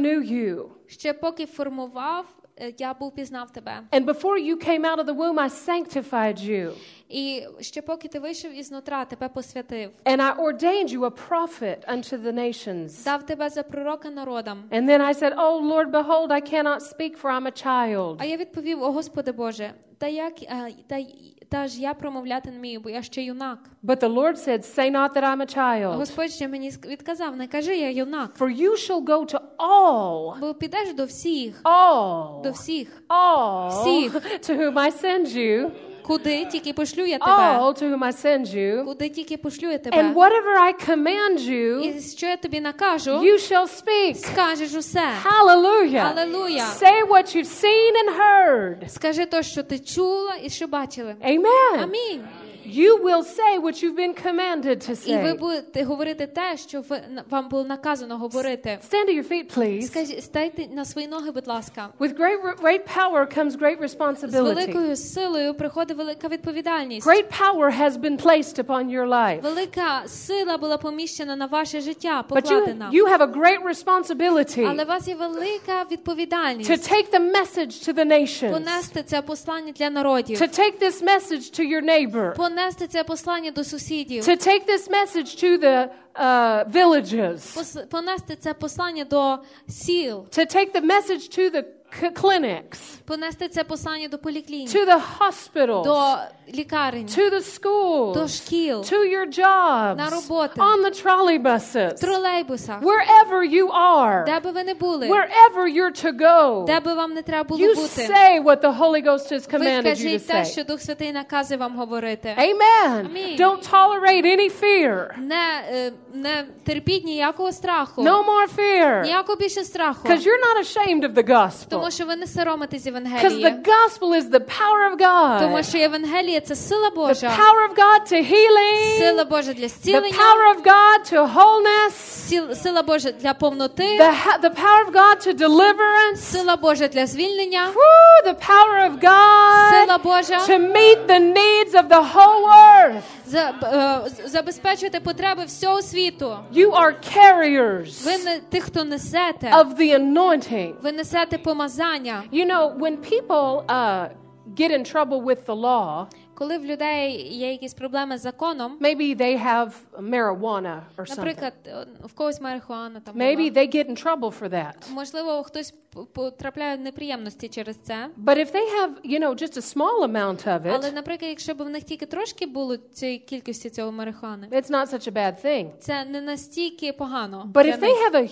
Speaker 1: you.
Speaker 2: Ще поки формував, я був пізнав тебе.
Speaker 1: And before you came out of the womb, I sanctified you.
Speaker 2: І ще поки ти вийшов із нутра, тебе посвятив.
Speaker 1: And I ordained you a prophet unto the nations.
Speaker 2: Дав тебе за пророка народам.
Speaker 1: And then I said, oh, Lord, behold, I cannot speak, for I'm a child.
Speaker 2: А я відповів: о, Господи Боже, та як та, та ж я промовляти не вмію, бо я ще юнак.
Speaker 1: But the Lord said, say not that I'm a child.
Speaker 2: Господь ще мені відказав: не кажи, я юнак.
Speaker 1: For you shall go to all.
Speaker 2: Бо підеш до всіх.
Speaker 1: All.
Speaker 2: До всіх.
Speaker 1: All.
Speaker 2: Всіх.
Speaker 1: To whom I send you.
Speaker 2: Куди тільки пошлю я тебе.
Speaker 1: All to whom I send you.
Speaker 2: Куди тільки пошлю я тебе.
Speaker 1: And whatever I command you.
Speaker 2: І що я тобі накажу,
Speaker 1: you shall speak.
Speaker 2: Скажеш усе.
Speaker 1: Hallelujah.
Speaker 2: Hallelujah.
Speaker 1: Say what you've seen and heard.
Speaker 2: Скажи то, що ти чула і що бачили.
Speaker 1: Amen.
Speaker 2: Амінь.
Speaker 1: You will say what you've been commanded to say.
Speaker 2: І ви будете говорити те, що вам було наказано говорити.
Speaker 1: Stand to your feet, please.
Speaker 2: Скажіть, стайте на свої ноги, будь ласка.
Speaker 1: With great great power comes great
Speaker 2: З
Speaker 1: responsibility.
Speaker 2: великою силою приходить велика відповідальність.
Speaker 1: Great power has been placed upon your life.
Speaker 2: Велика сила була поміщена на ваше життя,
Speaker 1: But you,
Speaker 2: покладена.
Speaker 1: you have a great responsibility
Speaker 2: Але у вас є велика відповідальність.
Speaker 1: to take the message to the nations.
Speaker 2: Понести це послання для народів.
Speaker 1: To take this message to your neighbor.
Speaker 2: Понести це послання до сусідів.
Speaker 1: To take this message to the uh, villages.
Speaker 2: Понести це послання до сіл.
Speaker 1: To take the message to the clinics.
Speaker 2: Понести це послання до поліклінік.
Speaker 1: To the hospitals.
Speaker 2: До лікарень.
Speaker 1: To the schools.
Speaker 2: До шкіл.
Speaker 1: To your jobs.
Speaker 2: На роботи.
Speaker 1: On the trolleybuses.
Speaker 2: В тролейбусах.
Speaker 1: Wherever you are.
Speaker 2: Де би ви не були.
Speaker 1: Wherever you're to go.
Speaker 2: Де би вам не треба було
Speaker 1: You
Speaker 2: бути.
Speaker 1: say what the Holy Ghost has
Speaker 2: Ви
Speaker 1: commanded you to
Speaker 2: кажіть те,
Speaker 1: say.
Speaker 2: що Дух Святий наказує вам говорити.
Speaker 1: Amen.
Speaker 2: Амінь.
Speaker 1: Don't tolerate any fear.
Speaker 2: Не, е, не терпіть ніякого страху.
Speaker 1: No more fear.
Speaker 2: Ніякого більше страху.
Speaker 1: Because you're not ashamed of the gospel.
Speaker 2: Тому що ви не соромитесь
Speaker 1: Because
Speaker 2: Євангелія.
Speaker 1: the gospel is the power of God.
Speaker 2: Тому що Євангеліє – це сила
Speaker 1: The
Speaker 2: Божа.
Speaker 1: power of God to healing.
Speaker 2: Сила Божа для
Speaker 1: The
Speaker 2: зцілення.
Speaker 1: power of God to wholeness.
Speaker 2: Сил- Сила Божа для повноти.
Speaker 1: The, ha- the power of God to deliverance.
Speaker 2: Сила Божа для звільнення.
Speaker 1: Woo, the power of God
Speaker 2: Сила Божа
Speaker 1: to meet the needs of the whole earth.
Speaker 2: за- е, забезпечувати потреби всього світу.
Speaker 1: You are carriers
Speaker 2: Ви не тих, хто несете.
Speaker 1: of the anointing.
Speaker 2: Ви несете помазання.
Speaker 1: You know, when people uh, get in trouble with the law,
Speaker 2: Коли в людей є якісь проблеми з законом,
Speaker 1: maybe they have marijuana or something.
Speaker 2: наприклад, в когось марихуана там
Speaker 1: Maybe
Speaker 2: була.
Speaker 1: they get in trouble for that.
Speaker 2: Можливо, хтось п- потрапляє в неприємності через це.
Speaker 1: But if they have, you know, just a small amount of
Speaker 2: Але,
Speaker 1: it,
Speaker 2: наприклад, якщо б в них тільки трошки було цієї кількості цього марихуани,
Speaker 1: it's not such a bad thing.
Speaker 2: це не настільки погано.
Speaker 1: But
Speaker 2: для
Speaker 1: if
Speaker 2: них.
Speaker 1: they have a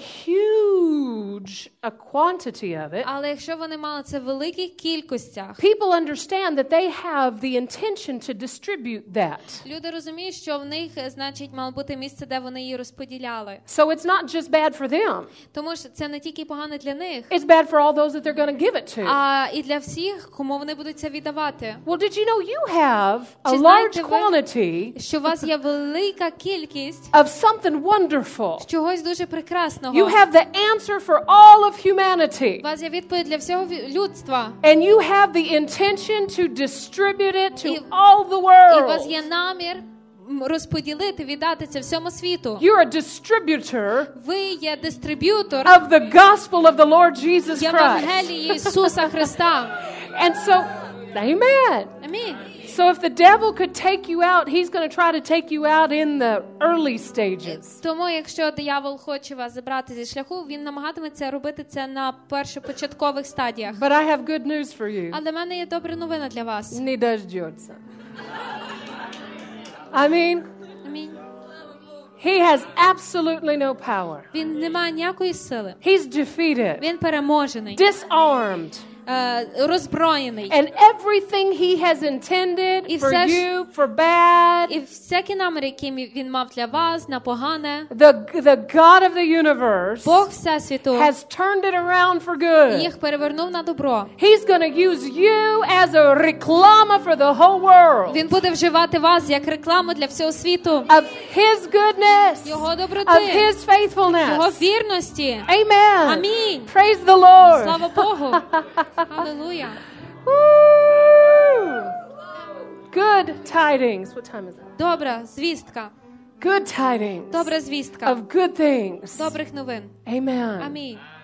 Speaker 1: huge a quantity of it,
Speaker 2: Але якщо вони мали це в великих кількостях,
Speaker 1: people understand that they have the intention to distribute that.
Speaker 2: люди розуміють, що в них, значить, мало бути місце, де вони її розподіляли.
Speaker 1: So it's not just bad for them.
Speaker 2: Тому що це не тільки погано для них,
Speaker 1: It's bad for all those that they're going to give it to.
Speaker 2: а і для всіх, кому вони будуть це віддавати.
Speaker 1: Well, did you know you have a
Speaker 2: Чи
Speaker 1: large
Speaker 2: знаєте ви,
Speaker 1: quantity
Speaker 2: що у вас є велика кількість
Speaker 1: of something wonderful?
Speaker 2: чогось дуже прекрасного.
Speaker 1: You have the answer for all of humanity.
Speaker 2: У вас є відповідь для всього ві- людства.
Speaker 1: And you have the intention to distribute it to
Speaker 2: І-
Speaker 1: all the
Speaker 2: І у вас
Speaker 1: world.
Speaker 2: є намір м, розподілити, віддати це всьому світу.
Speaker 1: You're a distributor
Speaker 2: Ви є дистриб'ютор
Speaker 1: of the gospel of the Lord Jesus Christ.
Speaker 2: Євангелії Ісуса Христа.
Speaker 1: And so, amen.
Speaker 2: Амінь.
Speaker 1: So if the devil could take you out, he's going to try to take you out in the early stages.
Speaker 2: Тому, якщо диявол хоче вас забрати зі шляху, він намагатиметься робити це на першопочаткових стадіях.
Speaker 1: But I have good news for you.
Speaker 2: Але в мене є добра новина для вас.
Speaker 1: Не дождется. I mean,
Speaker 2: Амінь.
Speaker 1: he has absolutely no power.
Speaker 2: Він не має ніякої сили.
Speaker 1: He's defeated,
Speaker 2: Він переможений,
Speaker 1: disarmed,
Speaker 2: е, роззброєний.
Speaker 1: and everything he has intended
Speaker 2: І
Speaker 1: for
Speaker 2: все ж-
Speaker 1: you, for bad,
Speaker 2: І всякі наміри, які він мав для вас, на погане,
Speaker 1: the, the God of the universe
Speaker 2: Бог Всесвіту
Speaker 1: has turned it around for good.
Speaker 2: їх перевернув на добро.
Speaker 1: He's going to use you as a reclama for the whole world
Speaker 2: Він буде вживати вас як рекламу для всього світу.
Speaker 1: of his goodness,
Speaker 2: Його
Speaker 1: of
Speaker 2: доброти,
Speaker 1: his
Speaker 2: Його
Speaker 1: faithfulness.
Speaker 2: вірності.
Speaker 1: Amen.
Speaker 2: Амінь.
Speaker 1: Praise the Lord.
Speaker 2: Слава Богу. Алілуя.
Speaker 1: Woo! Good tidings. What time is it?
Speaker 2: Добра звістка.
Speaker 1: Good tidings
Speaker 2: Добра звістка.
Speaker 1: of good things.
Speaker 2: Добрих новин.
Speaker 1: Amen.
Speaker 2: Амінь.